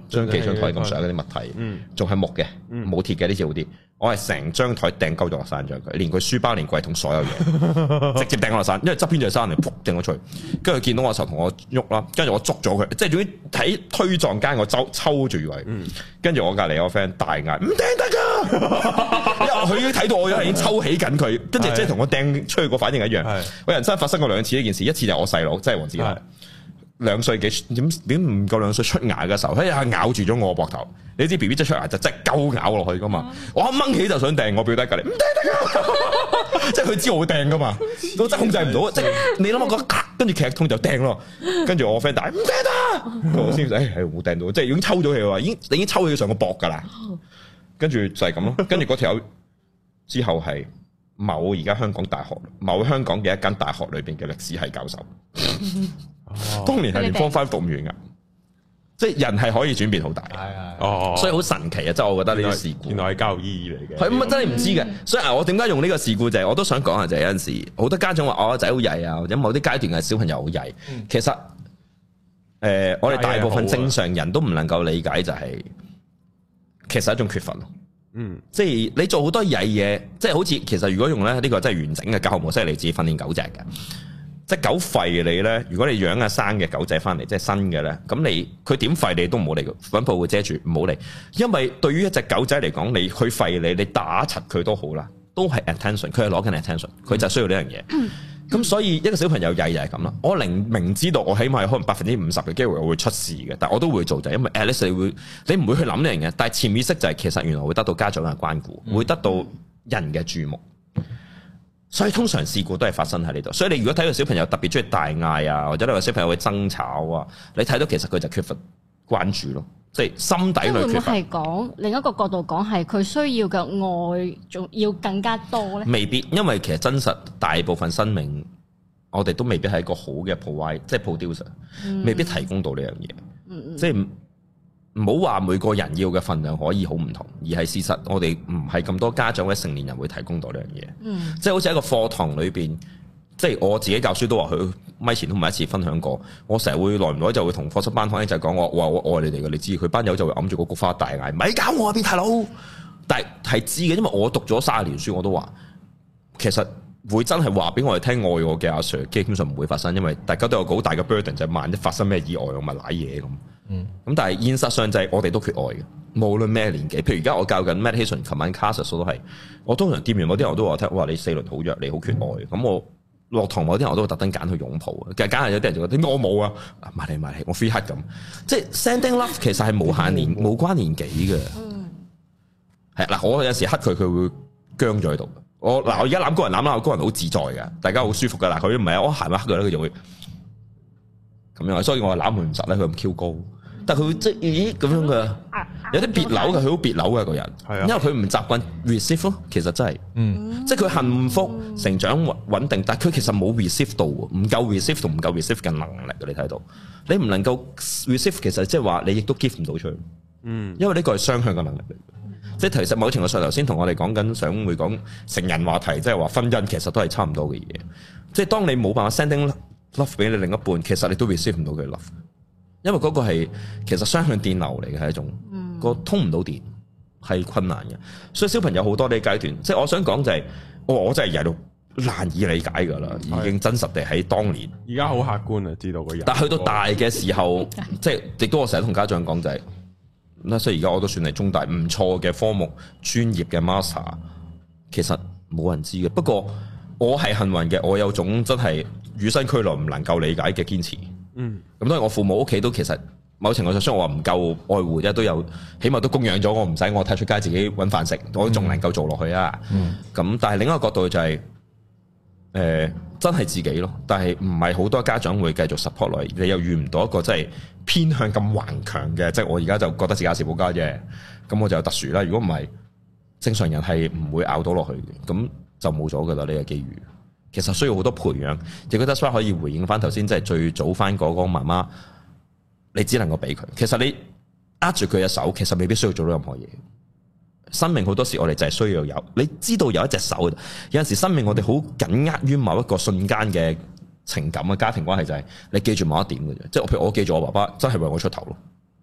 張幾張台咁上嗰啲物體，仲係木嘅，冇鐵嘅呢次好啲。我係成張台掟鳩咗落山，將佢連佢書包、連櫃桶所有嘢直接掟落山，因為側邊就係山嚟，撲掟咗出去。跟住佢見到我嘅時候同我喐啦，跟住我捉咗佢，即係總之喺推撞間我抽抽住佢。跟住我隔離有個 friend 大嗌唔掟得㗎，因為佢已經睇到我已經抽起緊佢，跟住即係同我掟出去個反應一樣。我人生發生過兩次呢件事，一次就係我細佬，即係黃子華。兩歲幾點點唔夠兩歲出牙嘅時候，佢一下咬住咗我個膊頭。你知 B B 即出牙就即係鳩咬落去噶嘛？我一掹起就想掟我表弟隔離，唔掟得噶，即係佢知我會掟噶嘛，我真係控制唔到。即係你諗下個跟住劇痛就掟咯，跟住我 friend 大唔掟得，我先誒係冇掟到，即係已經抽咗氣喎，已經已經抽起上個膊噶啦。跟住就係咁咯，跟住嗰條友之後係某而家香港大學某香港嘅一間大學裏邊嘅歷史系教授。哦、當年係連 form five 讀唔完噶，即係人係可以轉變好大，係係哦，所以好神奇啊！即係我覺得呢啲事故， 原來係教育意義嚟嘅， 係咁啊，真係唔知嘅。所以啊，我點解用呢個事故就係、是，我都想講下就係有陣時，好多家長話我個仔好曳啊，或者某啲階段嘅小朋友好曳。嗯、其實誒、呃，我哋大部分正常人都唔能夠理解就係、是，其實係一種缺乏咯。嗯，即係你做好多曳嘢，即係好似其實如果用咧呢個真係完整嘅教學模式，你自己訓練狗隻嘅。即係狗吠你咧，如果你養阿生嘅狗仔翻嚟，即係新嘅咧，咁你佢點吠你都唔好理佢，粉布會遮住，唔好理。因為對於一隻狗仔嚟講，你去吠你，你打柒佢都好啦，都係 attention，佢係攞緊 attention，佢就需要呢樣嘢。咁、嗯、所以一個小朋友曳就係咁啦。我明明知道我起碼可能百分之五十嘅機會我會出事嘅，但我都會做就係因為 at least 你會，你唔會去諗呢樣嘢，但係潛意識就係其實原來會得到家長嘅關顧，嗯、會得到人嘅注目。所以通常事故都係發生喺呢度，所以你如果睇到小朋友特別中意大嗌啊，或者你話小朋友會爭吵啊，你睇到其實佢就缺乏關注咯，即係心底裏缺乏。會唔會係講另一個角度講係佢需要嘅愛仲要更加多咧？未必，因為其實真實大部分生命，我哋都未必係一個好嘅 provide，即係 producer，嗯、未必提供到呢樣嘢，嗯、即係。唔好話每個人要嘅份量可以好唔同，而係事實我哋唔係咁多家長或者成年人會提供到呢樣嘢。嗯，即係好似喺個課堂裏邊，即係我自己教書都話佢咪前都唔係一次分享過。我成日會耐唔耐就會同課室班房就係講我話我愛你哋嘅，你知佢班友就會揞住個菊花大嗌，咪搞我啊變態佬！但係係知嘅，因為我讀咗卅年書，我都話其實會真係話俾我哋聽愛我嘅阿 Sir，基本上唔會發生，因為大家都有好大嘅 burden，就係萬一發生咩意外，我咪瀨嘢咁。嗯，咁但係現實上就係我哋都缺愛嘅，無論咩年紀。譬如而家我教緊 meditation，琴晚 classes 都係，我通常掂完某啲人我都話聽，哇你四輪好弱，你好缺愛。咁、嗯、我落堂某啲人我都會特登揀去擁抱。其實揀係有啲人就覺得點解我冇啊？埋嚟埋嚟，我 free hug 咁。即係 sending love 其實係無限年無關年紀嘅。嗯，係嗱，我有時黑佢，佢會僵咗喺度。我嗱我而家攬高人攬啦，高人好自在嘅，大家好舒服嘅。嗱佢唔係我行一黑佢咧，佢就會咁樣。所以我攬佢唔實咧，佢咁 Q 高。但佢會即係咦咁樣嘅，有啲別扭嘅，佢好別扭嘅個人，因為佢唔習慣 receive 咯。其實真係，嗯，即係佢幸福、成長穩定，但係佢其實冇 receive 到，唔夠 receive 同唔夠 receive 嘅能力。你睇到，你唔能夠 receive， 其實即係話你亦都 give 唔到出去。嗯，因為呢個係雙向嘅能力嚟。即係其實某程度上，頭先同我哋講緊，想會講成人話題，即係話婚姻，其實都係差唔多嘅嘢。即係當你冇辦法 sending love 俾你另一半，其實你都 receive 唔到佢 love。因為嗰個係其實雙向電流嚟嘅，係一種個、嗯、通唔到電係困難嘅，所以小朋友好多呢階段，即係我想講就係、是，我我真係曳到難以理解噶啦，已經真實地喺當年。而家好客觀啊，知道個人。但係去到大嘅時候，即係亦都我成日同家長講就係、是，咁所以而家我都算係中大唔錯嘅科目專業嘅 master， 其實冇人知嘅。不過我係幸運嘅，我有種真係與生俱來唔能夠理解嘅堅持。嗯，咁當然我父母屋企都其實某程度上，雖然我話唔夠愛護啫，都有起碼都供養咗我，唔使我踢出街自己搵飯食，我都仲能夠做落去啊。咁、嗯、但係另一個角度就係、是，誒、呃、真係自己咯。但係唔係好多家長會繼續 support 落嚟，你又遇唔到一個真係偏向咁頑強嘅，即、就、係、是、我而家就覺得自己是保家啫。咁我就有特殊啦。如果唔係正常人係唔會咬到落去嘅，咁就冇咗噶啦呢個機遇。其實需要好多培養，亦都得翻可以回應翻頭先，即係最早翻嗰個媽媽，你只能夠俾佢。其實你握住佢嘅手，其實未必需要做到任何嘢。生命好多時我哋就係需要有，你知道有一隻手。有陣時生命我哋好緊握於某一個瞬間嘅情感嘅家庭關係，就係你記住某一點嘅啫。即係譬如我記住我爸爸真係為我出頭咯，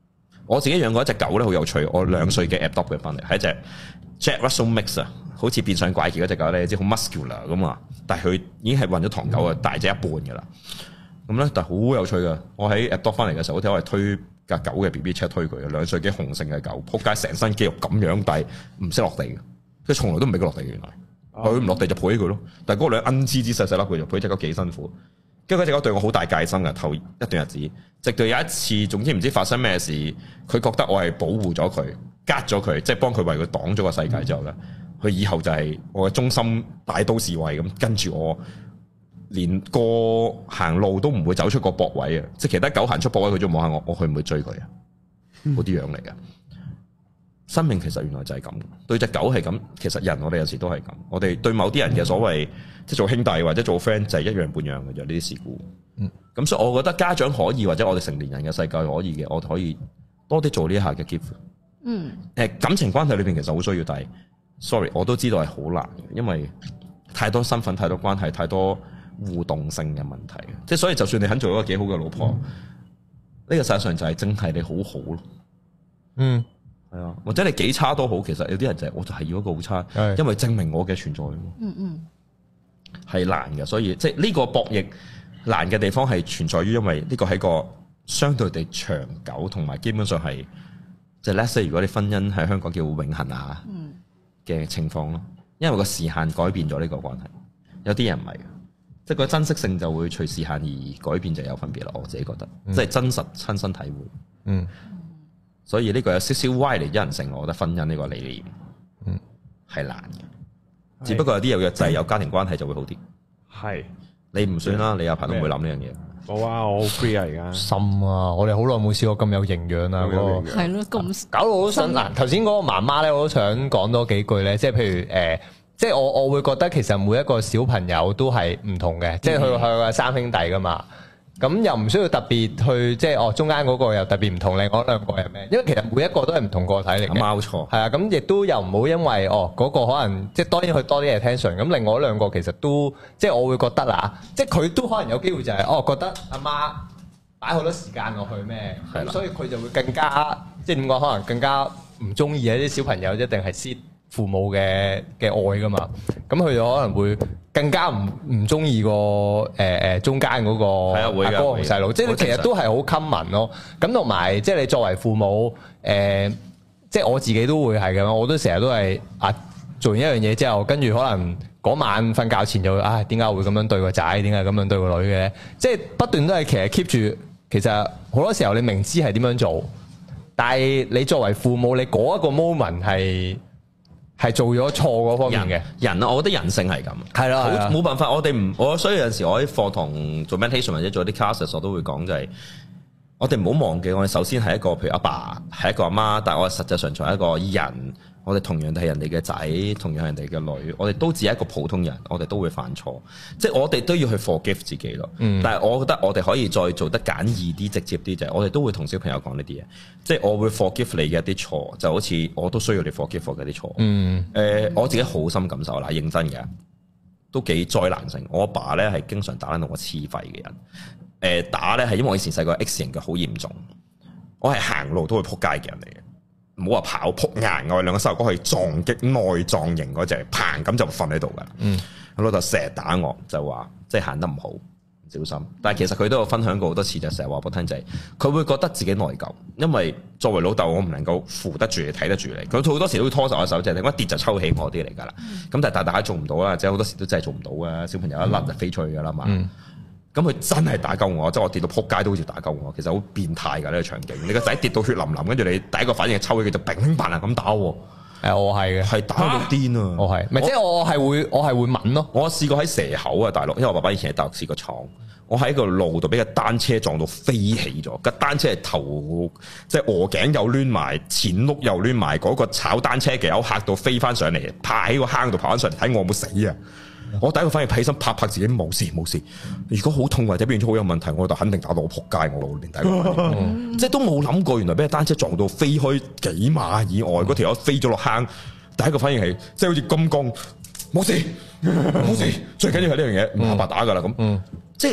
我自己養過一隻狗咧，好有趣。我兩歲嘅 adopt 佢翻嚟，係一隻 Jack Russell Mix 啊，好似變相怪傑嗰隻狗咧，即係好 muscular 咁啊。但係佢已經係混咗唐狗啊，大隻一半噶啦。咁咧，但係好有趣噶。我喺 adopt 翻嚟嘅時候，我睇我係推架狗嘅 B B 車推佢，兩歲幾雄性嘅狗，撲街成身肌肉咁樣，但係唔識落地嘅，佢從來都唔俾佢落地嘅。原來佢唔落地就抱起佢咯。但係嗰兩恩滋滋細細粒佢就抱隻狗幾辛苦。跟住嗰隻狗對我好大戒心嘅，頭一段日子，直到有一次，總之唔知發生咩事，佢覺得我係保護咗佢，隔咗佢，即係幫佢為佢擋咗個世界之後咧，佢以後就係我嘅忠心大刀侍衛咁，跟住我，連個行路都唔會走出個駁位啊！即係其他狗行出駁位，佢就望下我，我去唔會追佢啊？嗰啲樣嚟嘅。生命其實原來就係咁，對隻狗係咁，其實人我哋有時都係咁。我哋對某啲人嘅所謂即係做兄弟或者做 friend 就係一樣半樣嘅，就呢啲事故。嗯，咁所以我覺得家長可以或者我哋成年人嘅世界可以嘅，我哋可以多啲做呢一下嘅 give。嗯，誒感情關係裏邊其實好需要，但係 sorry 我都知道係好難嘅，因為太多身份、太多關係、太多互動性嘅問題。即係所以就算你肯做一個幾好嘅老婆，呢、嗯、個實際上就係真係你好好咯。嗯。係啊，或者你幾差都好，其實有啲人就係我就係要一個好差，的因為證明我嘅存在。嗯嗯，係難嘅，所以即係呢個博弈難嘅地方係存在於，因為呢個係個相對地長久，同埋基本上係即係 let's say 如果你婚姻喺香港叫永恆啊嘅情況咯，因為個時限改變咗呢個關係，有啲人唔係，即係個珍惜性就會隨時限而改變就有分別啦。我自己覺得，嗯、即係真實親身體會。嗯。所以呢個有少少歪離人性，我覺得婚姻呢個理念，嗯，係難嘅。只不過有啲有約制、有家庭關係就會好啲。係，你唔算啦，你阿排都唔會諗呢樣嘢。冇啊，我好 free 啊而家。心啊，我哋好耐冇試過咁有營養啊，嗰個係咯，咁搞到我都想嗱。頭先嗰個媽媽咧，我都想講多幾句咧，即係譬如誒，即係我我會覺得其實每一個小朋友都係唔同嘅，即係佢佢係三兄弟噶嘛。咁又唔需要特別去即係哦，中間嗰個又特別唔同，另外兩個係咩？因為其實每一個都係唔同個體嚟嘅。冇錯。係啊，咁亦都又唔好因為哦嗰個可能即係當然佢多啲 attention，咁另外兩個其實都即係我會覺得啦，即係佢都可能有機會就係哦覺得阿媽擺好多時間落去咩，咁所以佢就會更加即係點講？可能更加唔中意啊啲小朋友一定係先父母嘅嘅愛噶嘛，咁佢就可能會更加唔唔中意個誒誒中間嗰個阿哥同細佬，即係其實都係好 common 咯。咁同埋即係你作為父母，誒、呃，即係我自己都會係咁，我都成日都係啊做完一樣嘢之後，跟住可能嗰晚瞓覺前就會啊點解會咁樣對個仔，點解咁樣對個女嘅咧？即係不斷都係其實 keep 住，其實好多時候你明知係點樣做，但係你作為父母，你嗰一個 moment 係。係做咗錯嗰方面嘅人啊，我覺得人性係咁，係啦，冇辦法，我哋唔，我所以有陣時我喺課堂做 meditation 或者做啲 classes，我都會講就係，我哋唔好忘記，我哋首先係一個，譬如阿爸係一個阿媽，但係我哋實際上仲係一個人，我哋同樣都係人哋嘅仔，同樣係人哋嘅女，我哋都只係一個普通人，我哋都會犯錯，即係我哋都要去 forgive 自己咯。嗯、但係我覺得我哋可以再做得簡易啲、直接啲，就係我哋都會同小朋友講呢啲嘢，即係我會 forgive 你嘅一啲錯，就好似我都需要你 forgive 我嘅啲錯。嗯，誒、呃，我自己好深感受啦，認真嘅，都幾災難性。我阿爸咧係經常打到我黐肺嘅人，誒、呃，打咧係因為我以前細個 X 型嘅好嚴重，我係行路都會撲街嘅人嚟嘅。唔好話跑撲硬，我哋兩個細路哥可以撞擊內臟型嗰隻，砰咁就瞓喺度噶。嗯，我老豆成日打我，就話即係行得唔好，唔小心。但係其實佢都有分享過好多次，就成日話俾我聽就係，佢會覺得自己內疚，因為作為老豆，我唔能夠扶得住你，睇得住你。佢好多時都會拖實我手，就係一跌就抽起我啲嚟噶啦。咁、嗯、但係大大做唔到啦，即係好多時都真係做唔到啊！小朋友一甩就飛出去噶啦嘛。嗯咁佢真係打鳩我，即係我跌到撲街都好似打鳩我，其實好變態㗎呢個場景。你個仔跌到血淋淋，跟住你第一個反應係抽起佢就乒乒乓乓咁打喎。誒，我係嘅，係打到癲啊！我係，咪即係我係會，我係會問咯。我試過喺蛇口啊，大陸，因為我爸爸以前喺大陸試過闖，我喺個路度俾個單車撞到飛起咗，個單車係頭即係鵝頸又攣埋，前轆又攣埋，嗰個炒單車嘅友嚇到飛翻上嚟，趴喺個坑度爬翻上嚟睇我有冇死啊！我第一個反應起身拍拍自己冇事冇事，如果好痛或者變咗好有問題，我就肯定打到我仆街，我連第一個反應，即係都冇諗過，原來俾單車撞到飛開幾碼以外，嗰條友飛咗落坑，第一個反應係即係好似金剛冇事冇事，最緊要係呢樣嘢唔怕白打噶啦咁，即係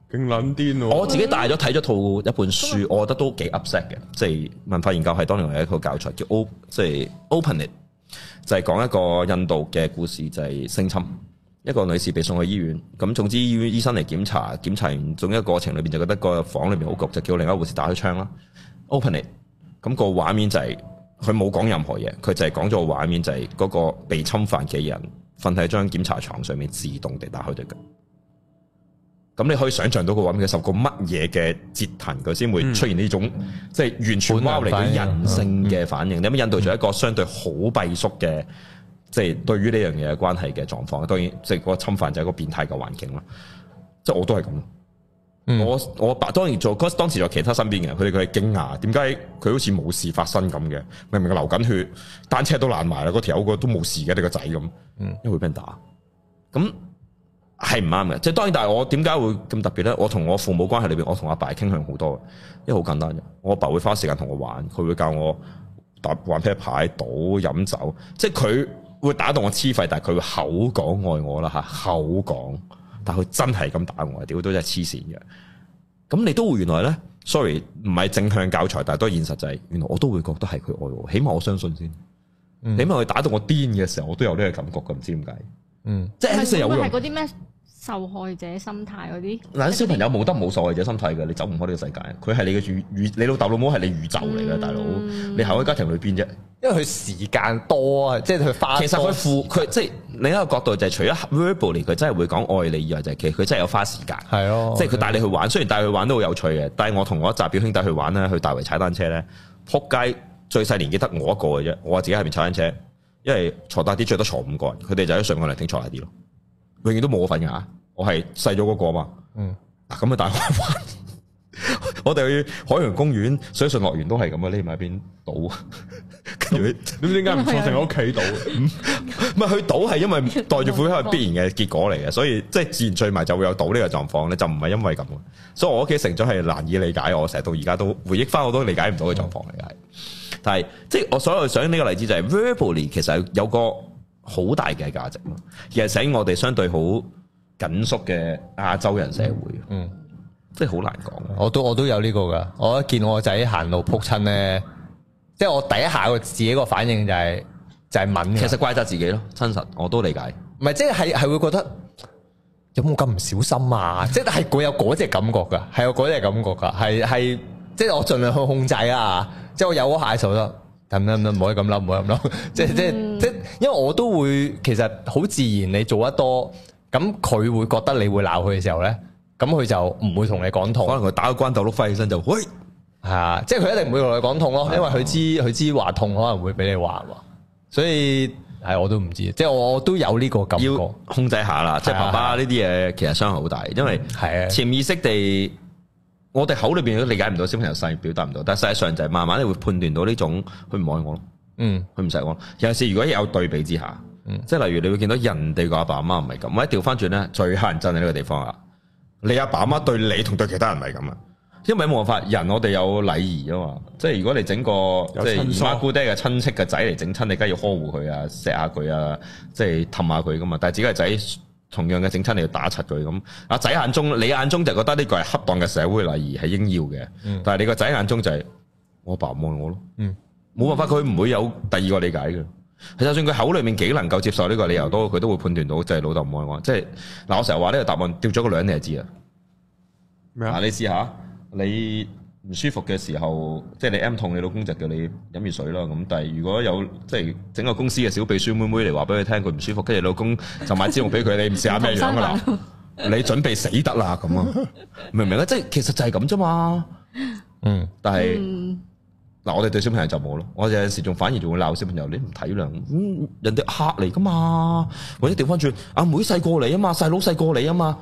勁撚癲喎！ 我自己帶咗睇咗套一本書，我覺得都幾 upset 嘅，即係文化研究係當年有一套教材叫 O， 即係 Open It， 就係講一個印度嘅故事，就係性侵。一個女士被送去醫院，咁總之醫院醫生嚟檢查，檢查完總一過程裏邊就覺得個房裏邊好焗，就叫另一個護士打開窗啦。Open It， 咁個畫面就係佢冇講任何嘢，佢就係講咗個畫面就係嗰個被侵犯嘅人瞓喺張檢查床上面，自動地打開對腳。咁你可以想象到個畫面佢受過乜嘢嘅折騰，佢先會出現呢種、嗯、即係完全拋離佢人性嘅反應。你咁印度就一個相對好閉縮嘅。即係對於呢樣嘢嘅關係嘅狀況，當然即係嗰個侵犯就係一個變態嘅環境啦。即係我都係咁、嗯，我我爸當然做嗰當時做其他身邊嘅人，佢哋佢係驚訝，點解佢好似冇事發生咁嘅？明明流緊血，單車都爛埋啦，嗰條友個都冇事嘅，你個仔咁，嗯，因為會俾人打，咁係唔啱嘅。即係當然，但係我點解會咁特別咧？我同我父母關係裏邊，我同阿爸傾向好多，因為好簡單嘅。我阿爸會花時間同我玩，佢會教我打玩啤牌、賭、飲酒，即係佢。會打到我黐肺，但係佢會口講愛我啦吓，口講，但係佢真係咁打我，屌都真係黐線嘅。咁你都會原來咧 ，sorry， 唔係正向教材，但係都係現實就係、是，原來我都會覺得係佢愛我，起碼我相信先。嗯、起碼佢打到我癲嘅時候，我都有呢個感覺嘅，唔知點解。嗯，即係有用。係嗰啲咩？ 受害者心態嗰啲， 嗱啲小朋友冇得冇受害者心態嘅，你走唔開呢個世界。佢係你嘅宇宇，你老豆老母係你宇宙嚟嘅，嗯、大佬。你喺個家庭裏邊啫，因為佢時間多啊，即係佢花。其實佢付佢即係另一個角度就係除咗 verbally 佢真係會講愛你以外，就係其實佢真係有花時間。係咯，即係佢帶你去玩，雖然帶佢玩都好有趣嘅。但係我同我一紮表兄弟去玩咧，去大圍踩單車咧，撲街最細年紀得我一個嘅啫。我話自己喺邊踩單車，因為坐大啲最多坐五個人，佢哋就喺上個涼亭坐大啲咯。永遠都冇我份㗎，我係細咗嗰個嘛。嗯，嗱咁啊，大開玩。我哋去海洋公園、水上樂園都係咁啊，匿埋一邊賭。跟住點點解唔坐成喺屋企賭？唔係去賭係因為袋住褲係必然嘅結果嚟嘅，所以即係自然聚埋就會有賭呢個狀況咧，就唔係因為咁。所以我屋企成長係難以理解，我成日到而家都回憶翻我都理解唔到嘅狀況嚟嘅。但係即係我所有想呢個例子就係 verbally 其實有個好大嘅價值咯，而係使我哋相對好緊縮嘅亞洲人社會，嗯，即係好難講。 我都我都有呢個噶，我一見我個仔行路撲親咧，即係我第一下個自己個反應就係就係問，其實怪責自己咯，真實我都理解。唔係即係係係會覺得有冇咁唔小心啊？即係係會有嗰隻感覺噶，係有嗰隻感覺噶，係係即係我盡量去控制啊，即係我有嗰下嘅時候得。咁樣唔可以咁諗，唔可以咁諗，即係即係即係，因為我都會其實好自然，你做得多，咁佢會覺得你會鬧佢嘅時候咧，咁佢就唔會同你講痛，可能佢打個關斗碌翻起身就喂，係啊，即係佢一定唔會同你講痛咯，因為佢知佢知話痛可能會俾你話，所以係我都唔知，即係我都有呢個感覺，要控制下啦，即係爸爸呢啲嘢其實傷害好大，因為係潛意識地。我哋口裏邊都理解唔到小朋友細表達唔到，但係實際上就係慢慢你會判斷到呢種佢唔愛我咯，嗯，佢唔錫我。有陣時如果有對比之下，嗯，即係例如你會見到人哋個阿爸阿媽唔係咁，或者調翻轉咧最乞人憎喺呢個地方啊，你阿爸阿媽對你同對其他人唔係咁啊，因為冇辦法，人我哋有禮儀啊嘛，即係如果你整個即係姨媽姑爹嘅親戚嘅仔嚟整親，你梗係要呵護佢啊，錫下佢啊，即係氹下佢噶嘛，但係自己個仔。同樣嘅整親你要打柒佢咁，阿仔眼中你眼中就覺得呢個係恰當嘅社會禮儀係應要嘅，嗯、但係你個仔眼中就係、是、我爸唔愛我咯，冇、嗯、辦法佢唔會有第二個理解嘅。就算佢口裏面幾能夠接受呢個理由都，佢都會判斷到就係老豆唔愛我。即係嗱，我成日話呢個答案掉咗個兩你就知啦。咩啊？嗱，你試下你。唔舒服嘅時候，即係你 M 痛，你老公就叫你飲熱水啦。咁但係如果有即係整個公司嘅小秘書妹妹嚟話俾佢聽佢唔舒服，跟住老公就買支用俾佢，你唔試下咩樣噶啦？你準備死得啦咁啊？明唔明啊？即係其實就係咁啫嘛。嗯，但係嗱，嗯、我哋對小朋友就冇咯。我有陣時仲反而仲會鬧小朋友，你唔體諒，嗯，人哋客嚟噶嘛，或者調翻轉，阿妹細過你啊嘛，細佬細過你啊嘛。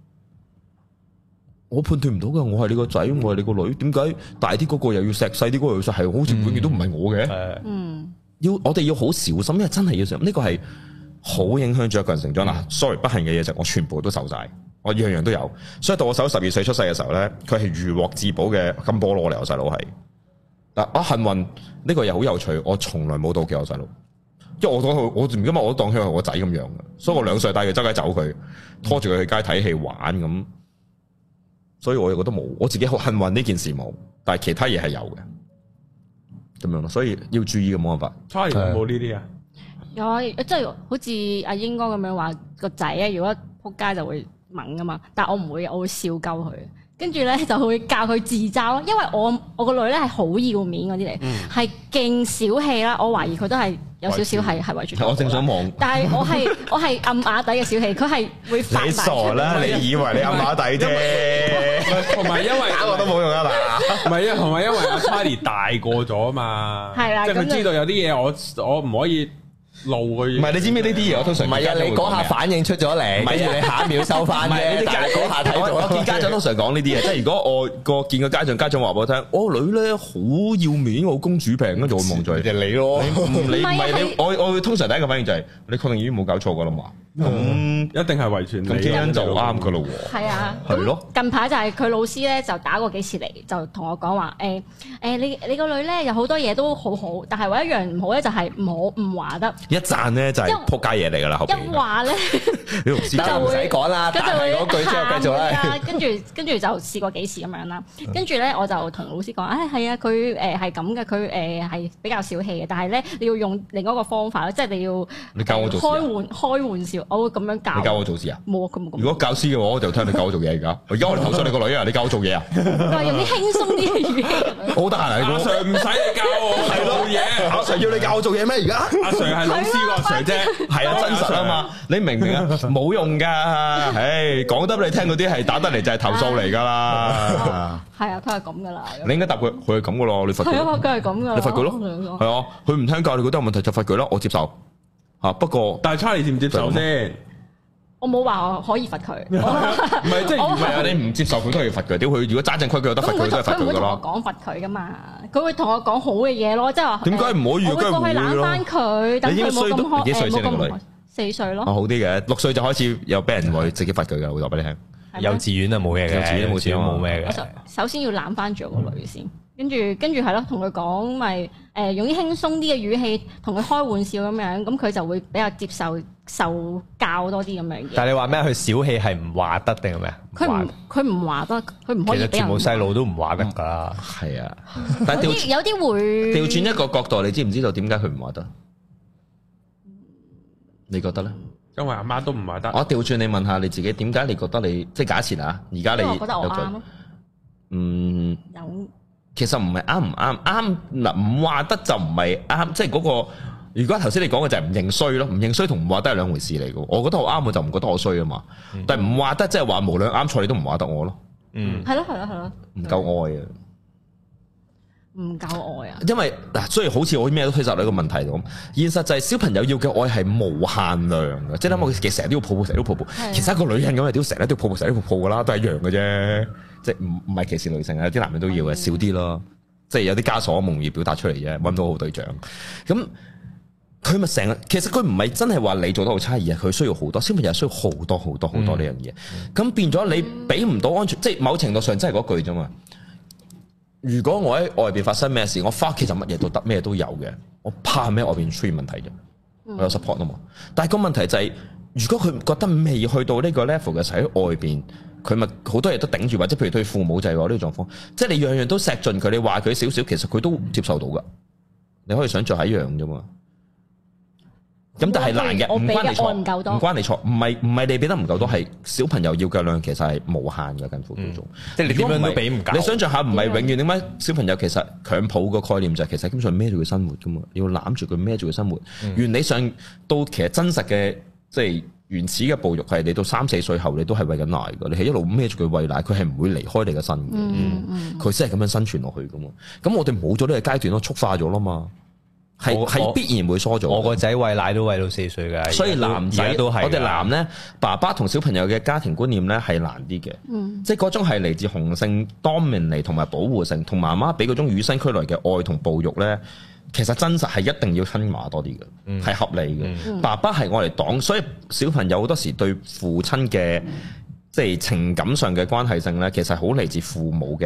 我判斷唔到噶，我係你個仔，我係你個女，點解大啲嗰個又要錫，細啲嗰個又要錫？係好似永遠都唔係我嘅。嗯，要我哋要好小心，因為真係要小心，呢個係好影響咗一個人成長啦。嗯、sorry，不幸嘅嘢就我全部都受晒，我樣樣都有。所以到我細佬十二歲出世嘅時候咧，佢係如獲至寶嘅金菠蘿嚟，我細佬係。嗱，我幸運呢個又好有趣，我從來冇妒忌我細佬，因為我當佢，我唔今日我都當佢係我仔咁樣嘅，所以我兩歲帶佢周街走佢，拖住佢去街睇戲玩咁。 所以我又覺得冇，我自己好幸運呢件事冇，但係其他嘢係有嘅，咁樣咯，所以要注意嘅冇辦法。 Charlie 有冇呢啲啊？ 有啊，即係好似阿英哥咁樣話個仔啊，如果仆街就會猛噶嘛，但係我唔會，我會笑鳩佢。跟住咧就會教佢自嘲，因為我我個女咧係好要面嗰啲嚟，係勁小氣啦。我懷疑佢都係有少少係係遺傳。 我正想望， 但係我係我係暗啞底嘅小氣，佢係會發你傻啦！你以為你暗啞底啫？ 同埋因為打我都冇用啊嗱， 唔係啊，同埋因為阿 Charlie 大個咗嘛， 係啦， 即係佢知道有啲嘢我我唔可以路佢。 唔係你知唔知呢啲嘢？我通常唔係啊！你嗰下反應出咗嚟，跟住你下一秒收翻啫。但係嗰下睇到， 我見家長通常講呢啲嘢，即係如果我個見個家長，家長話俾我聽，我女咧好要面，我公主病，跟住我望住你， 就你咯。 你唔你唔係你，我我會通常第一個反應就係你確定已經冇搞錯噶啦嘛？咁一定係遺傳， 咁基因就啱噶咯喎。 係啊， 係咯。 近排就係佢老師咧就打過幾次嚟，就同我講話誒誒，你你個女咧有好多嘢都好好，但係唯一樣唔好咧就係唔好唔話得。 一讚咧就係撲街嘢嚟㗎啦，後邊。 一話咧， 你老師就唔使講啦， 跟住會嗰句之後繼續啦。 跟住跟住就試過幾次咁樣啦。跟住咧我就同老師講，誒係啊，佢誒係咁嘅，佢誒係比較小氣嘅，但係咧你要用另一個方法咯，即係你要你教我做開玩開玩笑，我會咁樣教。 你教我做事啊？ 冇啊，咁咁。 如果教師嘅話，我就聽你教我做嘢而家。而家我哋投訴你個女啊，你教我做嘢啊？ 佢話用啲輕鬆啲嘅語氣咁樣。 好得閒啊！阿 Sir 唔使你教我做嘢， 阿 Sir 要你教我做嘢咩？而家阿 Sir 係老師個 Sir 啫， 係啊，真實啊嘛，你明唔明啊？冇用噶，唉，講得俾你聽嗰啲係打得嚟就係投訴嚟噶啦。 係啊，佢係咁噶啦。 你應該答佢，佢係咁噶咯，你罰佢。 係啊，佢係咁噶。 你罰佢咯。係啊，佢唔聽教，你覺得有問題就罰佢咯，我接受。吓，不過但係 Charlie 接唔接受先？ 我冇話我可以罰佢， 唔係即係唔係啊？你唔接受佢都係罰佢，屌佢！如果揸正規矩有得罰佢都係罰佢噶啦。 佢唔會同我講罰佢噶嘛，佢會同我講好嘅嘢咯，即係話點解唔可以？ 我會過去攬翻佢，等佢冇咁開幾歲先你個女？ 四歲咯。 哦，好啲嘅，六歲就開始有俾人會直接罰佢嘅，我話俾你聽。 幼稚園啊冇嘢嘅， 幼稚園冇事冇咩嘅。 首先要攬翻住我個女先。跟住跟住係咯，同佢講咪誒用啲輕鬆啲嘅語氣同佢開玩笑咁樣，咁佢就會比較接受受教多啲咁樣嘅。但係你話咩？佢小氣係唔話得定係咩？ 佢唔佢唔話得，佢唔可以俾人。 其實全部細路都唔話得㗎。 係啊，但係調有啲會調轉一個角度，你知唔知道點解佢唔話得？你覺得咧？ 因為阿媽都唔話得。 我調轉你問下你自己，點解你覺得你即係假設啊？而家你我覺得我啱咯。 嗯。 有。 其實唔係啱唔啱，啱嗱唔話得就唔係啱，即係嗰個。如果頭先你講嘅就係唔認衰咯，唔認衰同唔話得係兩回事嚟嘅。我覺得我啱，我就唔覺得我衰啊嘛。嗯、但係唔話得即係話無論啱錯你都唔話得我咯。 嗯，係咯係咯係咯， 唔夠愛啊， 唔夠愛啊。 因為嗱，所以好似我咩都推責你一個問題咁，現實就係小朋友要嘅愛係無限量嘅，即係諗我其實成日都要抱抱，成日都抱抱。的其實一個女人咁啊，屌成日都要抱抱，成日都抱抱噶啦，都係一樣嘅啫。即係唔唔係歧視女性啊，啲男人都要嘅，少啲咯。即係有啲枷鎖夢而表達出嚟啫，搵到好對象。咁佢咪成日，其實佢唔係真係話你做得好差，而係佢需要好多，小朋友需要好多好多好多呢樣嘢。咁、嗯、變咗你俾唔到安全，即係某程度上真係嗰句啫嘛。如果我喺外邊發生咩事，我翻屋企就乜嘢都得，咩都有嘅。我怕咩外邊出現問題啫？我有 support 啊嘛。但係個問題就係、是，如果佢覺得未去到呢個 level 嘅時候喺外邊。佢咪好多嘢都頂住，或者譬如對父母就係話呢個狀況，即係你樣樣都錫盡佢，你話佢少少，其實佢都接受到噶。你可以想像係一樣啫嘛。咁但係難嘅，唔關你錯，唔關你錯，唔係唔係你俾得唔夠多，係小朋友要嘅量其實係無限嘅，近乎叫做。即係你點樣都俾唔夠。你想像下，唔係永遠點解小朋友其實強抱個概念就係其實基本上孭住佢生活噶嘛，你要攬住佢孭住佢生活。嗯、原理上到其實真實嘅即係。原始嘅哺育係你到三四歲後，你都係餵緊奶㗎，你係一路孭住佢餵奶，佢係唔會離開你嘅身嘅，佢先係咁樣生存落去㗎嘛。咁我哋冇咗呢個階段咯，畜化咗啦嘛，係係必然會疏咗。 我個仔餵奶都餵到四歲㗎， 所以男仔都係我哋男咧，爸爸同小朋友嘅家庭觀念咧係難啲嘅，嗯、即係嗰種係嚟自雄性 dominate 同埋保護性，同媽媽俾嗰種與生俱來嘅愛同哺育咧。其實真實係一定要親媽多啲嘅，係、嗯、合理嘅。嗯、爸爸係我嚟擋，所以小朋友好多時對父親嘅、嗯、即係情感上嘅關係性咧，其實好嚟自父母嘅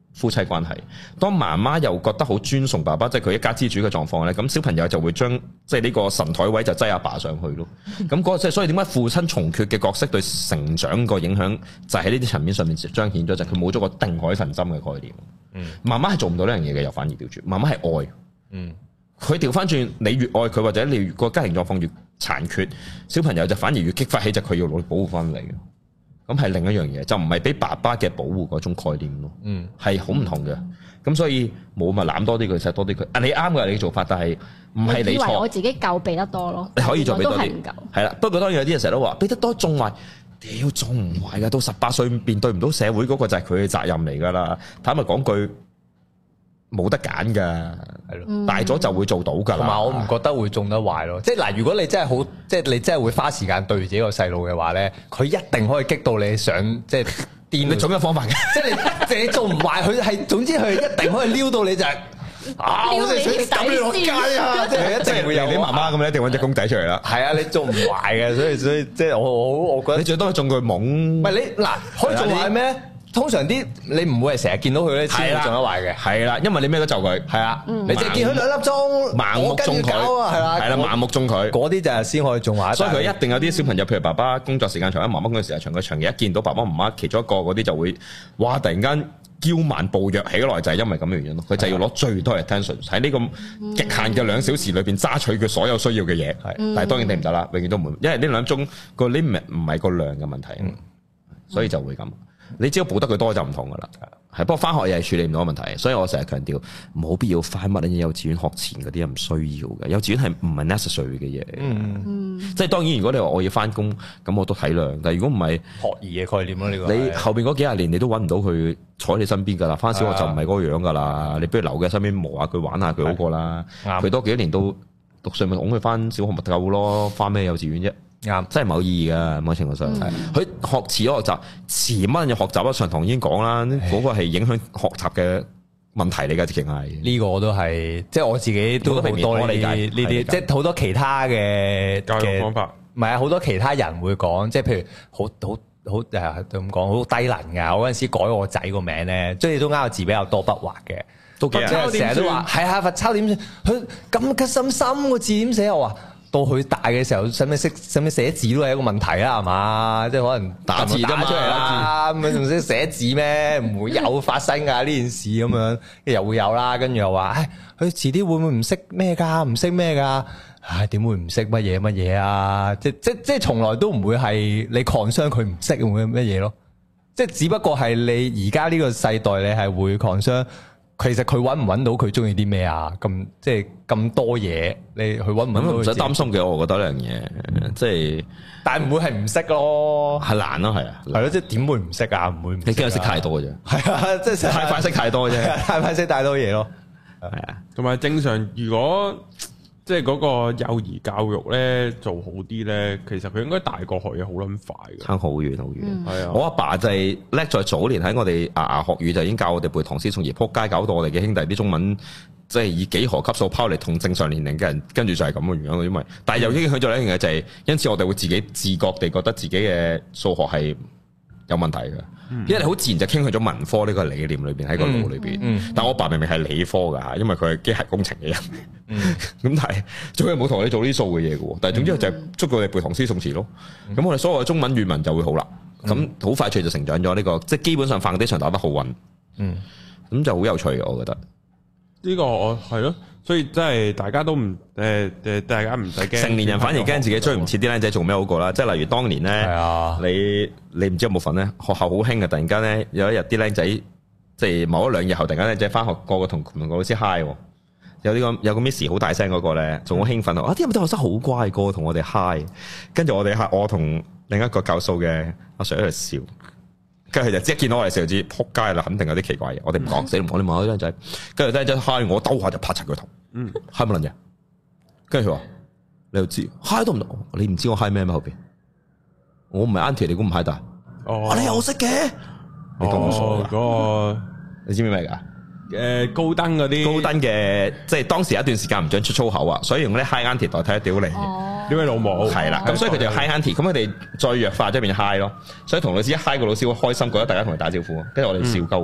夫妻關係。當媽媽又覺得好尊崇爸爸，即係佢一家之主嘅狀況咧，咁小朋友就會將即係呢個神台位就擠阿爸上去咯。咁嗰個即係所以點解父親從缺嘅角色對成長個影響就喺呢啲層面上面彰顯咗，就係佢冇咗個定海神針嘅概念。嗯，媽媽係做唔到呢樣嘢嘅，又反而調轉，媽媽係愛。嗯，佢調翻轉，你越愛佢或者你越個家庭狀況越殘缺，小朋友就反而越激發起就佢要努力保護翻你。咁係另一樣嘢，就唔係俾爸爸嘅保護嗰種概念咯。嗯，係好唔同嘅。咁所以冇咪攬多啲佢，錫多啲佢。啊，你啱嘅你嘅做法，但係唔係你錯。我以為我自己夠俾得多咯，你可以再俾多啲。係啦，不過當然有啲人成日都話俾得多縱壞，屌縱唔壞噶。到十八歲面對唔到社會嗰個就係佢嘅責任嚟噶啦。坦白講句，冇得揀噶，係咯，嗯、大咗就會做到噶啦。同埋我唔覺得會縱得壞咯。即係嗱，如果你真係好，即係你真係會花時間對住自己個細路嘅話咧，佢一定可以激到你想即係癲。你總有方法嘅，即係你你做唔壞佢係，總之佢一定可以撩到你就係、是。啊！我哋想抌你落街啊！即係一定會有你媽媽咁，你一定揾隻公仔出嚟啦。係啊，你做唔壞嘅，所以所以即係我我我覺得你最多係中佢懵。唔係你嗱，可以做壞咩？通常啲你唔會係成日見到佢咧，先會中得壞嘅。係啦，因為你咩都就佢。係啊，你淨係見佢兩粒鐘，盲目中佢。係啦，係啦，盲目中佢。嗰啲就係先可以中壞。所以佢一定有啲小朋友，譬如爸爸工作時間長，媽媽工作時間長，佢長期一見到爸爸媽媽其中一個嗰啲就會，哇！突然間。驕慢暴虐起來就係因為咁嘅原因咯，佢就要攞最多嘅 attention 喺呢個極限嘅兩小時裏邊揸取佢所有需要嘅嘢，係、嗯，但係當然你唔得啦，永遠都唔會，因為呢兩鐘個 limit 唔係個量嘅問題，嗯、所以就會咁。你只要補得佢多就唔同噶啦，係。不過翻學又係處理唔到問題，所以我成日強調冇必要翻乜嘢幼稚園學前嗰啲唔需要嘅，幼稚園係唔係 necessary 嘅嘢。嗯，即係當然如果你話我要翻工，咁我都體諒。但係如果唔係學兒嘅概念咯，呢個你後邊嗰幾廿年你都揾唔到佢坐喺你身邊噶啦，翻小學就唔係嗰個樣噶啦。你不如留佢身邊磨下佢玩下佢好過啦。佢多幾年到讀歲咪拱佢翻小學咪夠咯，翻咩幼稚園啫？啱，真係冇意義噶，某程度上係。佢、嗯、學遲咗學習，遲乜嘢學習啊？上堂已經講啦，嗰、那個係影響學習嘅問題嚟噶，直情係。呢個我都係，即係我自己都好多理解呢啲，即係好多其他嘅教育方法。唔係啊，好多其他人會講，即係譬如好好好誒咁講，好低能噶。我嗰陣時改我仔個名咧，即係都啱個字比較多筆畫嘅，都即係成日都話係啊，罰抄點算？佢咁嘅深深個字點寫？我話。到佢大嘅時候，使唔使識使唔使寫字都係一個問題啦，係嘛？即係可能打字打出嚟啦，咁樣仲識寫字咩？唔會有發生㗎呢件事咁樣，又會有啦。跟住又話，唉，佢遲啲會唔會唔識咩㗎？唔識咩㗎？唉，點會唔識乜嘢乜嘢啊？即即即係從來都唔會係你 concern佢唔識會乜嘢咯。即係只不過係你而家呢個世代，你係會 concern。其實佢揾唔揾到佢中意啲咩啊？咁即係咁多嘢，你佢揾唔揾到？唔使擔心嘅，我覺得呢樣嘢，即係，但係唔會係唔識咯，係難咯，係啊，係咯，即係點會唔識啊？唔會唔識，你驚佢識太多嘅啫，係啊，即係太快識太多啫，太快識太多嘢咯，係啊，同埋正常如果。即係嗰個幼兒教育咧做好啲咧，其實佢應該大個學嘢好撚快嘅，差好遠好遠。係啊、嗯，我阿爸，爸就係叻在早年喺我哋牙牙學語就已經教我哋背唐詩宋詞，撲街搞到我哋嘅兄弟啲中文即係以幾何級數拋嚟同正常年齡嘅人，跟住就係咁嘅原因。因為但係又影響咗另一樣嘢就係、是，因此我哋會自己自覺地覺得自己嘅數學係有問題嘅。因為你好自然就傾向咗文科呢個理念裏邊喺個腦裏邊，嗯嗯、但我爸明明係理科噶，因為佢係機械工程嘅人，咁、嗯、但係最尾冇同你做呢啲數嘅嘢嘅，但係總之就係捉到你背唐詩宋詞咯，咁、嗯、我哋所有嘅中文語文就會好啦，咁好、嗯、快脆就成長咗呢、這個，即係基本上 foundation 打得好穩，嗯，咁就好有趣嘅，我覺得呢個我係咯。所以真係大家都唔誒誒，大家唔使驚。成年人反而驚自己追唔切啲僆仔做咩好過啦。即係例如當年咧，啊、你你唔知有冇份咧？學校好興嘅，突然間咧有一日啲僆仔，即係某一兩日後，突然間僆仔翻學，個個同同個老師 hi，有呢個有個 miss 好大聲嗰個咧，仲好興奮啊！啲有啲學生好乖，個個同我哋 hi，跟住我哋 hi，我同另一個教數嘅阿 Sir 喺度笑。跟住佢就即係見到我哋時候知撲街啦，肯定有啲奇怪嘢。我哋唔講，死唔講，你問下啲僆仔。跟住僆仔嗨我兜下就拍柒佢頭。嗯，嗨乜撚嘢？跟住佢話：你又知嗨都唔得，你唔知我嗨咩咩後邊？我唔係 Auntie，你估唔嗨大？哦，你又識嘅？你咁傻噶？嗰個你知唔知咩㗎？誒，高登嗰啲高登嘅，即係當時有一段時間唔準出粗口啊，所以用啲 Hi Auntie 代替一屌你。屌你老母係啦，咁所以佢就 Hi Auntie，咁佢哋再弱化即係變 Hi 咯，所以同老師一 Hi 個老師好開心，覺得大家同佢打招呼，跟住我哋笑鳩佢。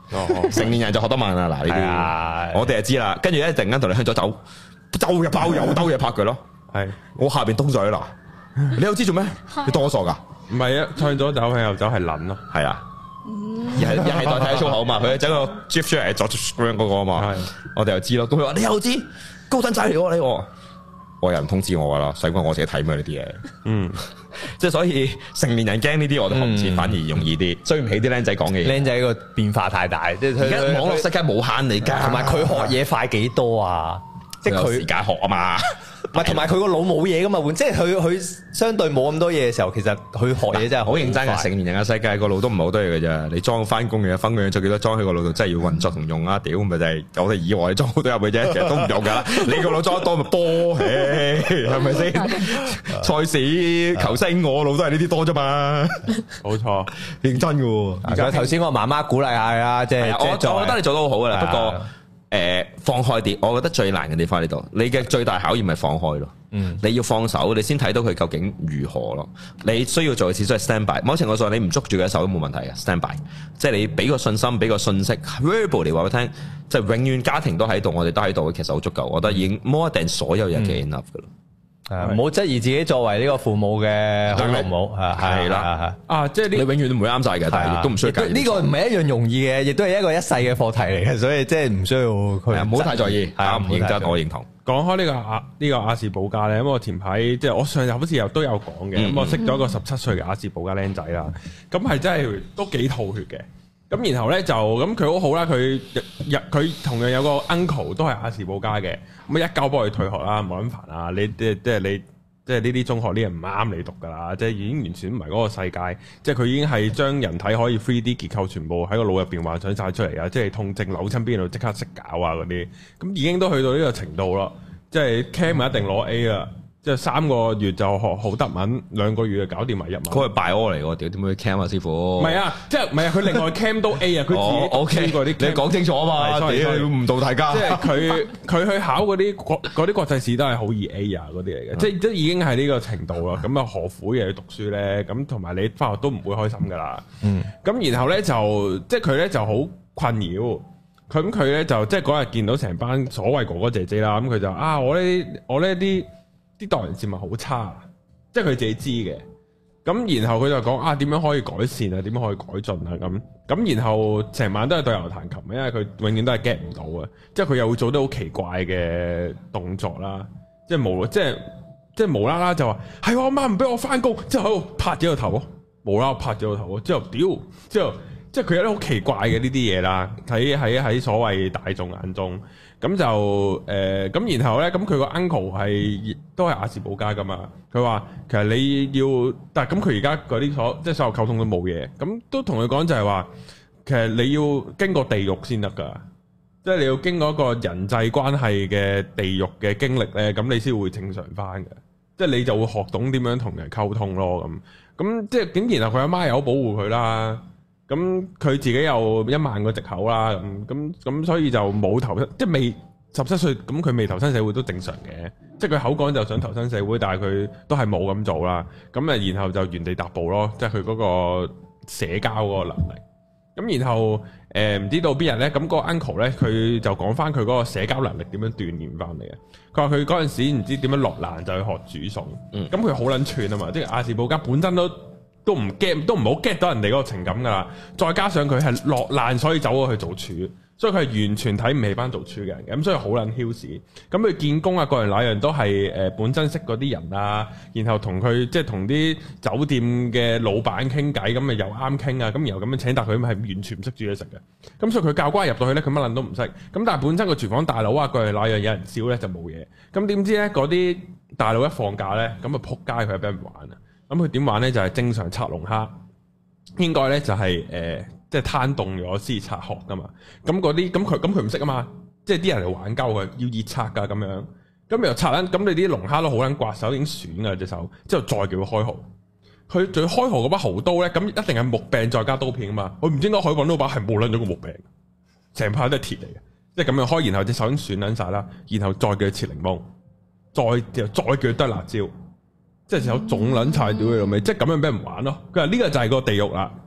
哦， 成年人就學得慢啦。嗱呢啲，我哋就知啦。跟住咧，突然間同你向左走，周日包又兜嘢拍佢咯。係，我下邊東水嗱，你又知做咩？你當我傻噶？ 唔係啊，向左走向右走係撚咯。 係啊，又係又係代替粗口嘛。佢整個 Jeff 出嚟左 screen 嗰個啊嘛。我哋又知咯。咁佢話你又知高登仔嚟喎呢個。我有人通知我噶啦，使鬼我自己睇咩呢啲嘢？嗯，即係所以成年人驚呢啲，我哋學唔切，反而容易啲，追唔起啲僆仔講嘅嘢。僆仔個變化太大，即係而家網絡世界冇限你噶，同埋佢學嘢快幾多啊？即係佢時間學啊嘛。唔係，同埋佢個腦冇嘢噶嘛，即係佢佢相對冇咁多嘢嘅時候，其實佢學嘢真係好認真嘅。成年人嘅世界個腦都唔係好多嘢嘅啫，你裝翻工嘅分樣做幾多裝喺個腦度，真係要運作同用啊！屌咪就係我哋以為你裝好多入去啫，其實都唔用噶。你個腦裝得多咪波，係咪先？賽事球星我腦都係呢啲多啫嘛，冇錯，認真嘅。而家頭先我媽媽鼓勵下啊，即係我我覺得你做得好好噶啦，不過。誒、呃，放開啲，我覺得最難嘅地方喺呢度。你嘅最大考驗係放開咯，嗯，你要放手，你先睇到佢究竟如何咯。你需要做嘅事都係 stand by。某程度上，你唔捉住佢嘅手都冇問題嘅 stand by，即係你俾個信心，俾個信息 verbal 嚟話俾佢聽，即係永遠家庭都喺度，我哋都喺度，其實好足夠。我覺得已經 more than 所有人嘅 enough 噶啦。誒，唔好質疑自己作為呢個父母嘅好唔好係係啦，啊，即係你永遠都唔會啱晒嘅，但係亦都唔需要。呢個唔係一樣容易嘅，亦都係一個一世嘅課題嚟嘅，所以即係唔需要佢唔好太在意。係啊，唔認真，我認同。講開呢個亞呢個亞氏保加咧，咁我前排即係我上日好似又都有講嘅，咁我識咗一個十七歲嘅亞氏保加僆仔啦，咁係真係都幾吐血嘅。咁然後咧就咁佢好好啦，佢入佢同樣有個 uncle 都係亞氏保加嘅，咁一交幫佢退學啦，冇咁煩啊！你即係即係你即係呢啲中學啲人唔啱你讀噶啦，即係已經完全唔係嗰個世界，即係佢已經係將人體可以 three D 結構全部喺個腦入邊幻想晒出嚟啊！即係痛症扭親邊度即刻識搞啊嗰啲，咁已經都去到呢個程度咯，即係 Cam 一定攞 A 啦。即係三個月就學好德文，兩個月就搞掂埋日文。佢係拜柯嚟喎，屌點會 cam 啊師傅？唔係啊，即係唔係啊？佢另外 cam 都 A 啊，佢自己 OK 嗰啲。你講清楚啊嘛，屌誤導大家。即係佢佢去考嗰啲國嗰啲國際試都係好易 A 啊嗰啲嚟嘅，即係都已經係呢個程度啦。咁啊何苦嘢去讀書咧？咁同埋你返學都唔會開心噶啦。嗯。咁然後咧就即係佢咧就好困擾。咁佢咧就即係嗰日見到成班所謂哥哥姐姐啦，咁佢就啊我呢我呢啲。啲待人接物好差，即係佢自己知嘅。咁然後佢就講啊，點樣可以改善啊？點樣可以改進啊？咁咁然後成晚都係對牛彈琴，因為佢永遠都係 get 唔到嘅。即係佢又會做啲好奇怪嘅動作啦，即係無即係即係無啦啦就話係我媽唔俾我翻工，之後喺度拍咗個頭，無啦啦拍咗個頭，之後屌，之後即係佢有啲好奇怪嘅呢啲嘢啦。喺喺喺所謂大眾眼中。咁就誒咁、呃，然後咧，咁佢個 uncle 係都係亞氏保加噶嘛？佢話其實你要，但係咁佢而家嗰啲所即係所有溝通都冇嘢，咁都同佢講就係話，其實你要經過地獄先得噶，即係你要經過一個人際關係嘅地獄嘅經歷咧，咁你先會正常翻嘅，即係你就會學懂點樣同人溝通咯，咁咁即係咁，然後佢阿媽又好保護佢啦。咁佢自己有一萬個藉口啦，咁咁咁，所以就冇投身，即係未十七歲，咁佢未投身社會都正常嘅。即係佢口講就想投身社會，但係佢都係冇咁做啦。咁啊，然後就原地踏步咯，即係佢嗰個社交嗰個能力。咁然後誒唔、呃、知道邊日咧，咁、嗰個 uncle 咧，佢就講翻佢嗰個社交能力點樣鍛鍊翻嚟嘅。佢話佢嗰陣時唔知點樣落難就去學煮餸，咁佢好撚串啊嘛，即係亞氏保加本身都。都唔 get，都唔好 get 到人哋嗰個情感噶啦，再加上佢係落難，所以走咗去做廚，所以佢係完全睇唔起班做廚嘅人嘅，咁所以好撚囂屎。咁佢見工啊，各人那樣都係誒、呃、本身識嗰啲人啊，然後同佢即係同啲酒店嘅老闆傾偈，咁咪又啱傾啊，咁然後咁樣請，但佢係完全唔識煮嘢食嘅。咁所以佢教官入到去咧，佢乜撚都唔識。咁但係本身個廚房大佬啊，各人那樣有人笑咧就冇嘢。咁點知咧嗰啲大佬一放假咧，咁啊撲街佢係俾人玩啊！咁佢點玩咧？就係、是、正常拆龍蝦，應該咧就係、是、誒、呃，即係攤凍咗先拆殼噶嘛。咁嗰啲咁佢咁佢唔識啊嘛，即係啲人嚟玩鳩佢，要熱拆噶咁樣。咁又拆撚，咁你啲龍蝦都好撚刮手，已經損噶隻手。之後再叫佢開蠔，佢仲要開蠔嗰把蠔刀咧，咁一定係木柄再加刀片啊嘛。佢唔知點解可以揾到把係冇撚咗個木柄，成塊都係鐵嚟嘅，即係咁樣開，然後隻手已經損撚晒啦，然後再叫佢切檸檬，再又再叫佢剁辣椒。即係有種撚柴屌佢老味，即係咁樣俾人玩咯。佢話呢個就係個地獄啦，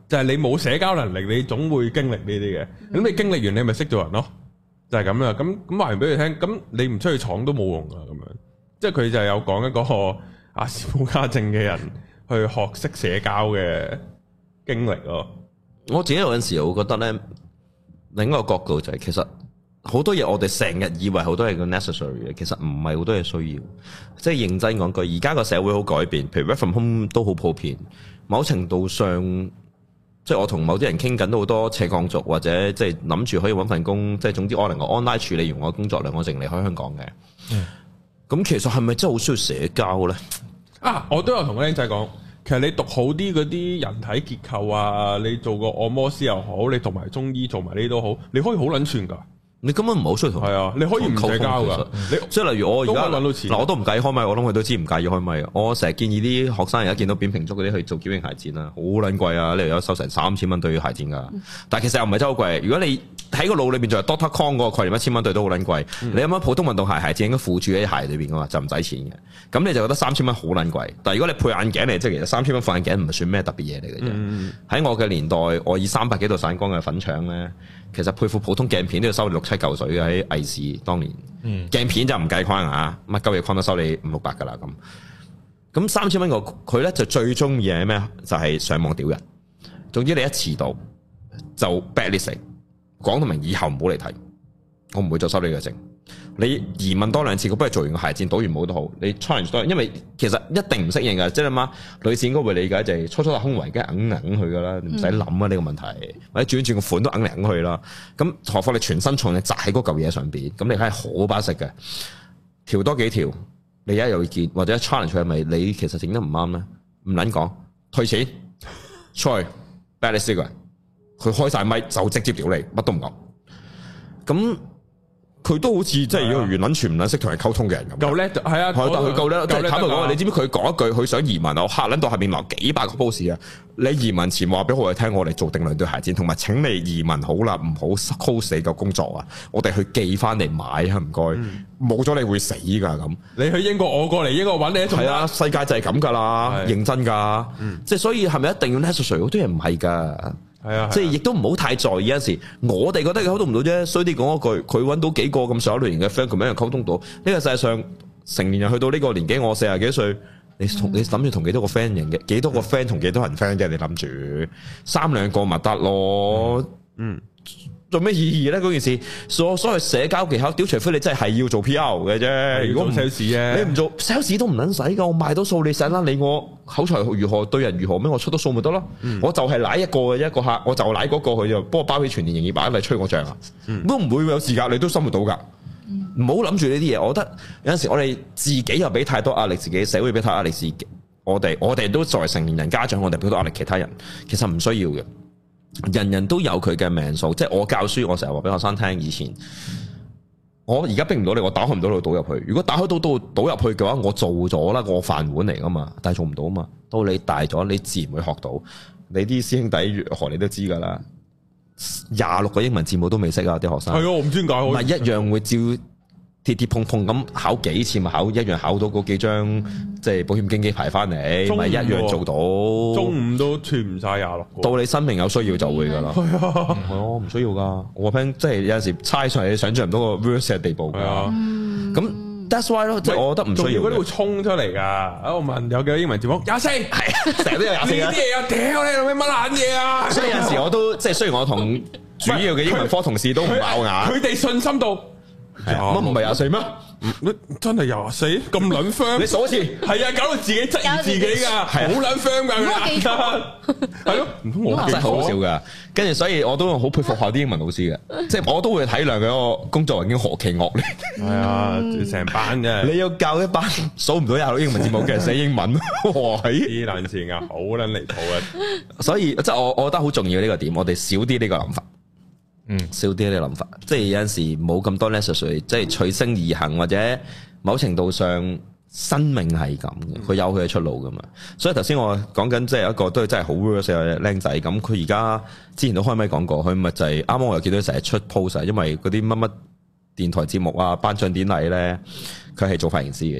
就係你冇社交能力，你總會經歷呢啲嘅。咁、嗯、你經歷完，你咪識做人咯，就係咁啦。咁咁話完俾佢聽，咁你唔出去闖都冇用噶。咁樣，即係佢就有講一個阿斯普加症嘅人去學識社交嘅經歷咯。 我自己有陣時我覺得咧，另一個角度就係、是、其實好多嘢我哋成日以為好多嘢叫 necessary 嘅，其實唔係好多嘢需要。即係認真講句，而家個社會好改變，譬如 work from home 都好普遍，某程度上。即係我同某啲人傾緊都好多斜槓族，或者即係諗住可以揾份工，即係總之我能夠 online 處理完我嘅工作量，我淨離開香港嘅。咁、嗯、其實係咪真係好需要社交咧？啊， 我都有同個僆仔講，其實你讀好啲嗰啲人體結構啊，你做個按摩師又好，你讀埋中醫做埋呢啲都好，你可以好撚串㗎。 你根本唔好需要同， 係啊，你可以唔社交噶。你即係例如我而家揾到錢， 嗱我都唔介意開咪，我諗佢都知唔介意開咪。我成日建議啲學生而家見到扁平足嗰啲去做矯形鞋墊啦，好撚貴啊！你又有收成三千蚊對鞋墊噶，但係其實又唔係真係好貴。如果你喺個腦裏邊就係 Doctor Kong 嗰個概念，一千蚊對都好撚貴。嗯、你有冇普通運動鞋鞋墊應該附住喺鞋裏邊噶嘛，就唔使錢嘅。咁你就覺得三千蚊好撚貴。但係如果你配眼鏡嚟，即係其實三千蚊副眼鏡唔係算咩特別嘢嚟嘅啫。喺、嗯、我嘅年代，我以三百幾度散光嘅粉腸咧。其實配副普通鏡片都要收你六七嚿水嘅，喺藝視當年，嗯、鏡片就唔計框啊，乜鳩嘢框都收你五六百噶啦咁。咁三千蚊個佢咧就最中意係咩？就係、是、上網屌人。總之你一遲到就 blacklist，講到明以後唔好嚟睇，我唔會再收你嘅證。你疑問多兩次，佢不如做完個鞋墊，倒完帽都好。你 challenge 多，因為其實一定唔適應㗎。即係你媽女士應該會理解，就係初初係胸圍，梗係硬硬去噶啦，唔使諗啊呢個問題。或者轉轉個款都硬嚟硬去啦。咁何況你全身重你扎喺嗰嚿嘢上邊，咁你係好巴適嘅。調多幾條，你而家有意見或者 challenge 係咪你其實整得唔啱咧？唔撚講，退錢，出去 bad list 個人，佢開晒咪就直接屌你，乜都唔講。咁。佢都好似即係完撚全唔撚識同人溝通嘅人咁，夠叻係啊！但佢夠叻，即係坦白講，你知唔知佢講一句佢想移民啊？我嚇撚到下面留幾百個 post 啊！你移民前話俾我哋聽，我哋做定兩對鞋墊，同埋請你移民好啦，唔好 close 你個工作啊！我哋去寄翻嚟買啊！唔該，冇咗、嗯、你會死㗎咁。你去英國，我過嚟英國揾你一係啊！世界就係咁㗎啦，的認真㗎。嗯、即係所以係咪一定要 necessary？好多嘢唔係㗎。係啊，即係亦都唔好太在意。有陣時我哋覺得佢溝通唔到啫，衰啲講一句，佢搵到幾個咁上一類型嘅 friend，佢咪一樣溝通到。呢個世界上成年人去到呢個年紀，我四十幾歲，你同你諗住同幾多個 friend 型嘅，幾多個 friend 同幾多人 friend 啫？你諗住三兩個咪得咯，嗯。做咩意義咧？嗰件事所所謂社交技巧，屌除非你真係係要做 P R 嘅啫。如果唔 sales 啊，你唔做 sales 都唔撚使噶。我賣到數，你使啦。你我口才如何，對人如何咩？我出到數咪得咯。嗯、我就係舐一個嘅一個客，我就舐嗰個佢就幫我包起全年營業額嚟吹我脹啊。嗯、都唔會有時間，你都生活到噶。唔好諗住呢啲嘢。我覺得有陣時我哋自己又俾太多壓力，自己社會俾太多壓力自己。我哋我哋都作為成年人家長，我哋俾好多壓力其他人，其實唔需要嘅。人人都有佢嘅命數，即係我教書，我成日話俾學生聽。以前我而家逼唔到你，我打開唔到你倒入去。如果打開到倒倒入去嘅話，我做咗啦，我飯碗嚟噶嘛，但係做唔到啊嘛。到你大咗，你自然會學到。你啲師兄弟如何，你都知噶啦。廿六個英文字母都未識啊，啲學生係啊，我唔知點解，唔係一樣會照。跌跌碰碰咁考幾次咪考一樣考到嗰幾張即係保險經紀牌翻嚟，咪一樣做到。中午都串唔晒廿六。到你生命有需要就會噶啦。係啊，係啊，唔需要噶。我 friend 即係有陣時猜上嚟，你想象唔到個 verse 嘅地步。係啊，咁 that's why 咯，即係我覺得唔需要。嗰啲會衝出嚟噶。我問有幾多英文字母？廿四，係成日都有廿四。呢啲嘢啊，屌你老味乜撚嘢啊！所以有陣時我都即係雖然我同主要嘅英文科同事都唔咬牙，佢哋信心度。乜唔係廿四咩？真係廿四咁撚 friend？你數一次，係啊，搞到自己質疑自己噶，好撚 friend 噶，我記錯，係咯，唔通我真係好笑噶。跟住所以我都好佩服下啲英文老師嘅，即係我都會體諒佢個工作環境何其惡劣。係啊，成班嘅，你要教一班數唔到廿六英文字母嘅人寫英文，哇！啲爛線啊，好撚離譜啊！所以即係我我覺得好重要呢個點，我哋少啲呢個諗法。嗯，少啲啲諗法，即係有陣時冇咁多 necessary，即係隨聲而行，或者某程度上生命係咁嘅，佢有佢嘅出路噶嘛。所以頭先我講緊即係一個都係真係好 worse 嘅僆仔，咁佢而家之前都開咪講過，佢咪就係啱啱我又見到成日出 post，因為嗰啲乜乜電台節目啊、頒獎典禮咧，佢係做髮型師嘅而家。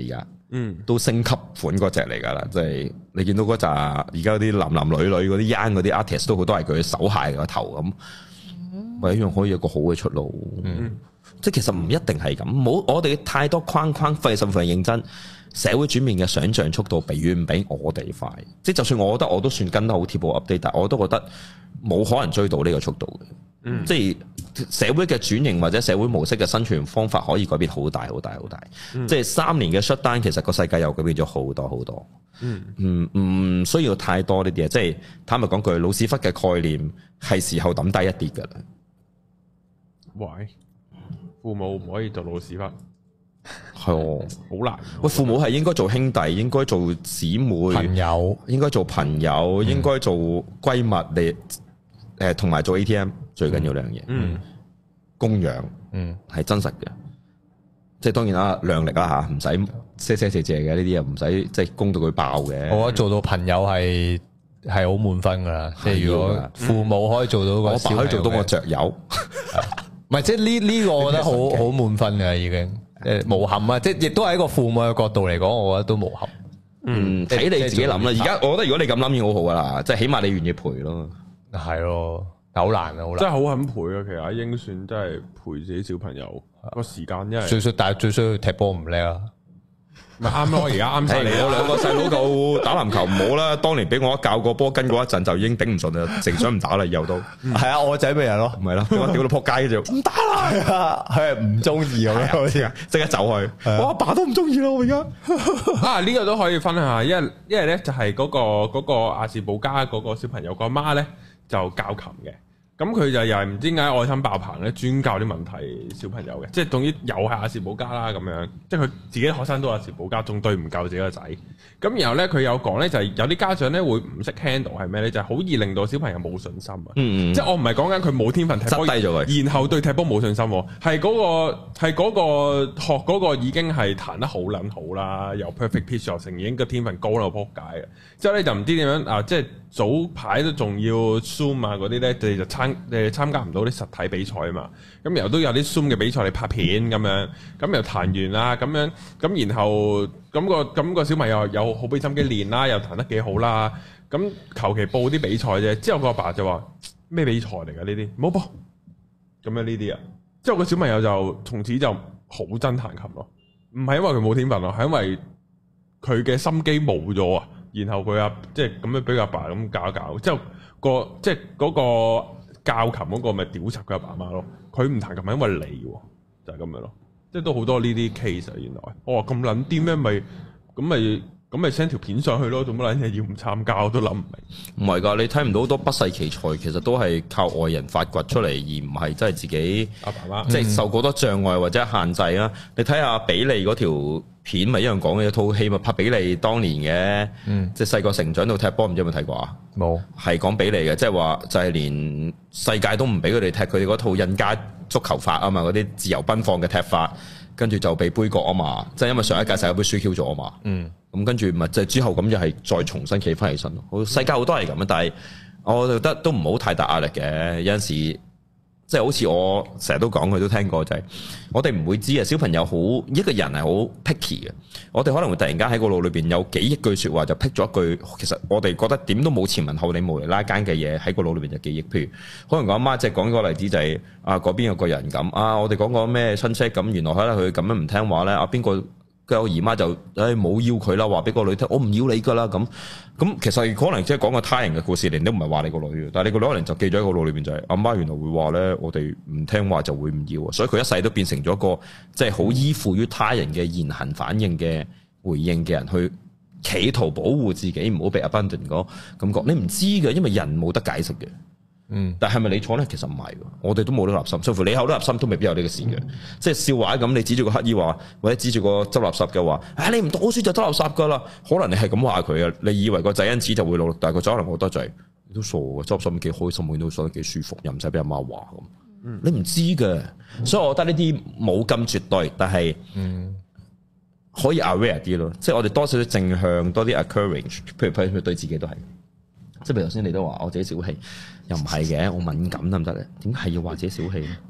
嗯， 都升級款嗰隻嚟㗎啦，即係你見到嗰扎而家啲男男女女嗰啲 young 嗰啲 artist 都好多係佢手鞋個頭咁，咪、嗯、一樣可以有個好嘅出路。嗯，即係其實唔一定係咁，冇我哋太多框框，費事費認真。社會轉變嘅想像速度比遠唔比我哋快，即係就算我覺得我都算跟得好貼步 update，但我都覺得冇可能追到呢個速度嘅。嗯，即係社會嘅轉型或者社會模式嘅生存方法可以改變好大好大好大。嗯、即係三年嘅 shutdown，其實個世界又改變咗好多好多。嗯，唔唔需要太多呢啲嘢，即係坦白講句，老屎忽嘅概念係時候抌低一啲㗎啦。 喂，父母唔可以做老屎忽。 係哦， 好難。 喂，父母係應該做兄弟，應該做姊妹， 朋友應該做朋友，嗯、應該做閨蜜嚟，誒，同埋做 A T M 最緊要兩樣嘢。嗯，供養，嗯，係真實嘅。即係當然啦，量力啦吓，唔使賒賒借借嘅呢啲啊，唔使即係供到佢爆嘅。我覺得做到朋友係係好滿分噶啦。即係如果父母可以做到個，我爸可以做到個雀友，唔係即係呢呢個我覺得好好滿分嘅已經。誒，無憾啊！即係亦都係一個父母嘅角度嚟講，我覺得都無憾。嗯，睇你自己諗啦。而家我覺得如果你咁諗已經好好噶啦，即係起碼你願意陪咯。係咯，但好難啊，好難。真係好肯陪啊！其實阿英算真係陪自己小朋友個時間，因為最衰，但係最衰踢波唔叻啊。咪啱咯，而家啱晒你。我兩個細佬夠打籃球唔好啦。當年俾我一教個波跟過一陣，就已經頂唔順啦，成想唔打啦，以後都係啊，我仔咩人咯，唔係咯，我屌到扑街就唔打啦，佢係唔中意咁樣，好似即刻走去。我阿爸都唔中意咯，我而家啊呢個都可以分享下，因為因為咧就係嗰個嗰個亞氏保加嗰個小朋友個媽咧就教琴嘅。咁佢就又係唔知點解愛心爆棚咧，專教啲問題小朋友嘅，即係總之又係亞氏保加啦咁樣，即係佢自己學生都亞氏保加，仲對唔夠自己個仔。咁然後咧佢有講咧，就係有啲家長咧會唔識 handle 係咩咧？就係、是、好易令到小朋友冇信心啊！嗯嗯即係我唔係講緊佢冇天分踢波，低咗佢，然後對踢波冇信心，係嗰、那個係嗰個學嗰個已經係彈得好撚好啦，由 perfect pitch 成已經個天分高到撲街嘅。之後咧就唔知點樣啊，即係早排都仲要 Zoom 啊嗰啲咧，佢就參誒參加唔到啲實體比賽啊嘛，咁然後都有啲 Zoom 嘅比賽你拍片咁樣，咁又彈完啦咁樣，咁然後咁個咁個小朋友有好俾心機練啦，又彈得幾好啦，咁求其報啲比賽啫。之後個阿爸就話咩比賽嚟㗎呢啲，唔好報咁樣呢啲啊。之後個小朋友就從此就好憎彈琴咯，唔係因為佢冇天分咯，係因為佢嘅心機冇咗啊。然後佢阿即係咁樣俾佢阿爸咁搞一搞，之後個即係嗰個。教琴嗰個咪屌柒佢阿爸媽咯，佢唔彈琴係因為你喎，就係、是、咁樣咯，即係都好多呢啲 case 啊。原來我話咁撚啲咩？咪咁咪咁咪 send 條片上去咯，做乜撚嘢要唔參加？我都諗唔明。唔係㗎，你睇唔到好多不世奇才，其實都係靠外人發掘出嚟，而唔係真係自己阿爸媽即係受過多障礙或者限制啊。嗯、你睇下比利嗰條片咪一樣講嘅一套戲咪拍比利當年嘅，嗯、即係細個成長到踢波，唔知有冇睇過啊？冇，係講比利嘅，即係話就係、是、連世界都唔俾佢哋踢佢哋嗰套印加足球法啊嘛，嗰啲自由奔放嘅踢法，跟住就被杯葛啊嘛，即係因為上一屆世界盃輸 Q 咗啊嘛，嗯，咁跟住咪即係之後咁又係再重新企翻起身咯。世界好多係咁啊，但係我覺得都唔好太大壓力嘅，有陣時。即係好似我成日都講，佢都聽過就係、是，我哋唔會知啊。小朋友好一個人係好 picky 嘅，我哋可能會突然間喺個腦裏邊有幾億句説話就 pick 咗一句，其實我哋覺得點都冇前文後理無厘啦間嘅嘢喺個腦裏邊就記憶。譬如可能我阿媽即係講個例子就係、是、啊嗰邊有個人咁啊，我哋講個咩親戚咁，原來可能佢咁樣唔聽話咧，啊邊個？佢姨媽就誒冇、哎、要佢啦，話俾個女聽，我唔要你噶啦咁。咁其實可能即係講個他人嘅故事，你都唔係話你個女嘅，但係你個女可能就記咗喺個腦裏邊就係、是、阿媽原來會話咧，我哋唔聽話就會唔要，所以佢一世都變成咗一個即係好依附於他人嘅言行反應嘅回應嘅人，去企圖保護自己唔好被 abandon 嗰感覺。你唔知嘅，因為人冇得解釋嘅。嗯，但係咪你錯咧？其實唔係，我哋都冇得立心，甚至乎你口都立心都未必有呢個事嘅。嗯、即係笑話咁，你指住個乞衣話，或者指住個執垃圾嘅話，唉、哎，你唔讀好書就執垃圾噶啦。可能你係咁話佢啊，你以為個仔因此就會努力，但係個仔可能覺得就係、是、你都傻嘅，執垃圾幾開心，見到覺得幾舒服，又唔使俾阿媽話咁。嗯、你唔知嘅，嗯、所以我覺得呢啲冇咁絕對，但係嗯可以 aware 啲咯。即係我哋多少少正向，多啲 encourage，譬如譬如對自己都係。即係譬如頭先你都話我自己小氣，又唔係嘅，我敏感得唔得咧？點解係要話自己小氣咧？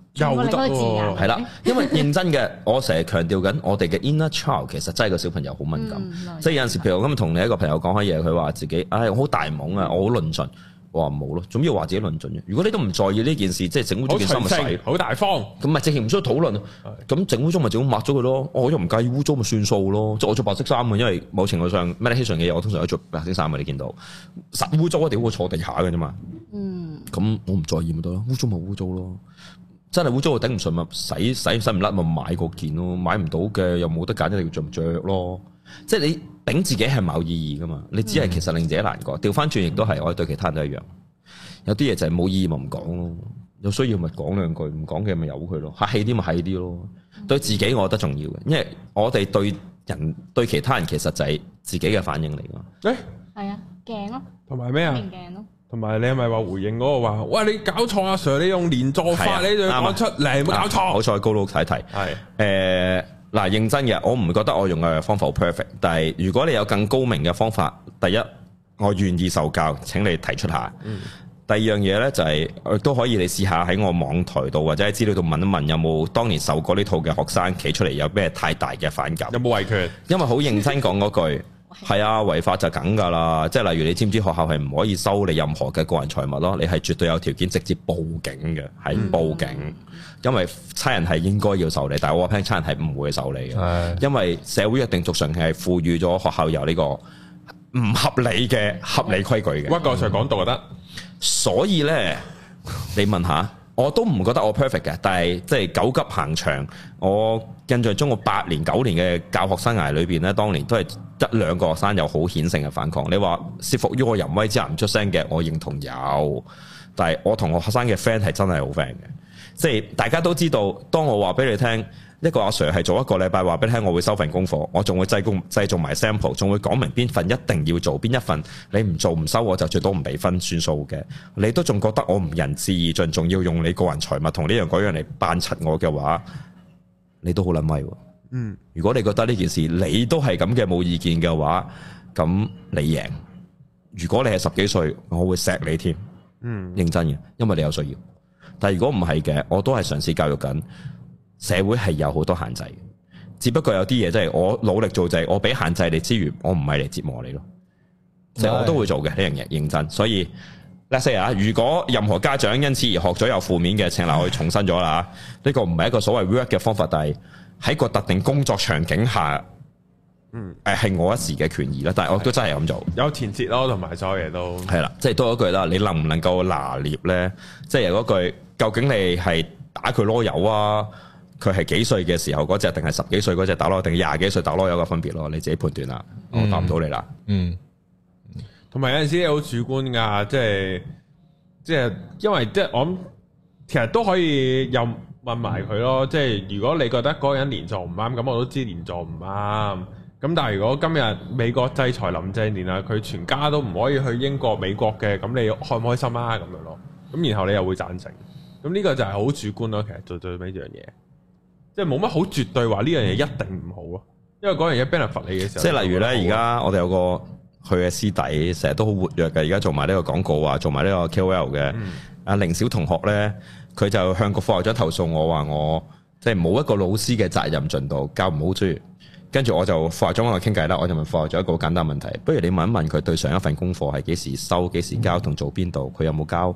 又得喎， 係啦，因為認真嘅，我成日強調緊，我哋嘅 inner child 其實真係個小朋友好敏感，嗯、即係有陣時，譬如我今日同你一個朋友講開嘢，佢話自己，唉、哎，我好大懵啊，我好論盡，我話冇咯，總之話自己論盡嘅。如果你都唔在意呢件事，即係整污糟件衫咪洗，好大方，咁咪直情唔需要討論。咁整污糟咪整抹咗佢咯，我又唔介意污糟咪算數咯。即係我着白色衫嘅，因為某程度上 meditation 嘅嘢，我通常都着白色衫嘅，你見到實污糟一定會坐地下嘅啫嘛。嗯，咁我唔在意咪得咯，污糟咪污糟咯。真係污糟我頂唔順咪洗洗洗唔甩咪買個件咯，買唔到嘅又冇得揀，一定要着唔着咯。即係你頂自己係冇意義噶嘛，你只係其實令自己難過。調翻轉亦都係，我哋對其他人都一樣。有啲嘢就係冇意義咪唔講咯，有需要咪講兩句，唔講嘅咪由佢咯，客氣啲咪係啲咯。對自己我覺得重要嘅，因為我哋對人對其他人其實就係自己嘅反應嚟噶。誒，係啊，鏡咯，同埋咩啊？鏡咯。同埋你係咪話回應嗰個話？喂，你搞錯啊 Sir！你用連坐法，啊、你就講出嚟，冇搞錯。好彩高佬睇睇。係誒嗱，認真嘅，我唔覺得我用嘅方法好 perfect。但係如果你有更高明嘅方法，第一我願意受教，請你提出下。嗯、第二樣嘢咧就係、是、都可以你試下喺我網台度或者喺資料度問一問，有冇當年受過呢套嘅學生企出嚟有咩太大嘅反感？有冇維權？因為好認真講嗰句。係啊，違法就梗噶啦，即係例如你知唔知學校係唔可以收你任何嘅個人財物咯？你係絕對有條件直接報警嘅，係報警，嗯、因為差人係應該要受理，但係我話聽差人係唔會受理嘅，的因為社會約定俗成係賦予咗學校有呢個唔合理嘅合理規矩嘅。屈個 Sir 講道就得，所以咧，你問下。我都唔覺得我 perfect 嘅，但係即係九級行長，我印象中我八年九年嘅教學生涯裏邊咧，當年都係一兩個學生有好顯性嘅反抗。你話懾服於我淫威之下唔出聲嘅，我認同有，但係我同學生嘅 friend 係真係好 friend 嘅，即係大家都知道，當我話俾你聽。一個阿 Sir 係做一個禮拜話俾你聽，我會收份功課，我仲會製工製造埋 sample， 仲會講明邊份一定要做，邊一份你唔做唔收，我就最多唔俾分算數嘅。你都仲覺得我唔仁至義盡，仲要用你個人財物同呢樣嗰樣嚟扮柒我嘅話，你都好撚威喎。嗯，如果你覺得呢件事你都係咁嘅冇意見嘅話，咁你贏。如果你係十幾歲，我會錫你添。嗯，認真嘅，因為你有需要。但係如果唔係嘅，我都係嘗試教育緊。社會係有好多限制嘅，只不過有啲嘢真係我努力做就係我俾限制你之餘，我唔係嚟折磨你咯，即係我都會做嘅呢樣嘢，認真。所以 let's say 啊，如果任何家長因此而學咗有負面嘅，請嗱我重申咗啦，呢個唔係一個所謂 work 嘅方法，但係喺個特定工作場景下，嗯，誒係我一時嘅權益啦，但係我都真係咁做，有前設咯，同埋所有嘢都係啦，即係多一句啦，你能唔能夠拿捏咧？即係嗰句，究竟你係打佢囉柚啊？佢係幾歲嘅時候嗰隻，定係十幾歲嗰隻打囉，定廿幾歲打囉有個分別咯，你自己判斷啦。嗯、我答唔到你啦。嗯，同埋有陣時好主觀噶，即係即係，因為即係我諗，其實都可以又問埋佢咯。即係如果你覺得嗰個人連坐唔啱，咁我都知連坐唔啱。咁但係如果今日美國制裁林鄭年啊，佢全家都唔可以去英國、美國嘅，咁你開唔開心啊？咁樣咯。咁然後你又會贊成。咁呢個就係好主觀咯。其實做最尾一樣嘢。即係冇乜好絕對話呢樣嘢一定唔好咯，因為嗰樣嘢 benefit 你嘅時候，即係例如咧，而家我哋有個佢嘅師弟，成日都好活躍嘅，而家做埋呢個廣告啊，做埋呢個 K O L 嘅。阿凌小同學咧，佢就向個副校長投訴我話我即係冇一個老師嘅責任盡度，教唔好書。跟住我就副校長同我傾偈啦，我就問副校長一個好簡單問題，不如你問一問佢對上一份功課係幾時收、幾時交同做邊度，佢有冇交？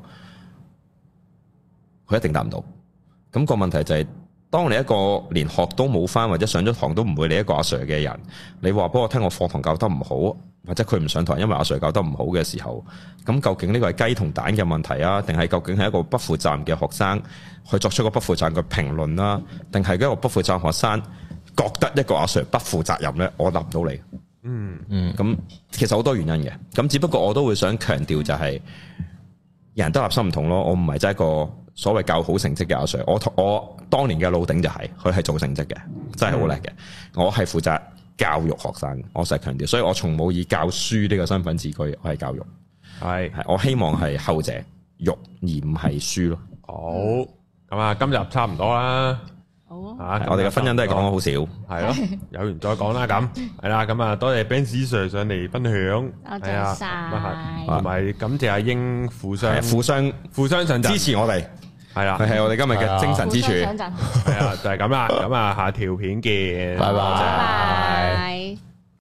佢一定答唔到。咁個問題就係。當你一個連學都冇返，或者上咗堂都唔會理一個阿 Sir 嘅人，你話俾我聽我課堂教得唔好，或者佢唔上堂因為阿 Sir 教得唔好嘅時候，咁究竟呢個係雞同蛋嘅問題啊，定係究竟係一個不負責任嘅學生去作出個不負責任嘅評論啦，定係一個不負責任學生覺得一個阿 Sir 不負責任呢？我答唔到你。嗯嗯，咁其實好多原因嘅，咁只不過我都會想強調就係、是、人都立心唔同咯，我唔係真係一個。所謂教好成績嘅阿 Sir，我我當年嘅老頂就係佢係做成績嘅，真係好叻嘅。我係負責教育學生，我成日強調，所以我從冇以教書呢個身份自居，我係教育，係係我希望係後者育而唔係書咯。好，咁啊，今日差唔多啦。好啊，我哋嘅婚姻都係講咗好少，係咯，有緣再講啦。咁係啦，咁啊，多謝 Benz Sir 上嚟分享，多謝晒，同埋感謝阿英互相互相互相上支持我哋。 係啦， 佢係我哋今日嘅精神支柱。 互相上陣。 係啊，就係咁啦。咁啊，下條片見， 拜拜。 拜拜。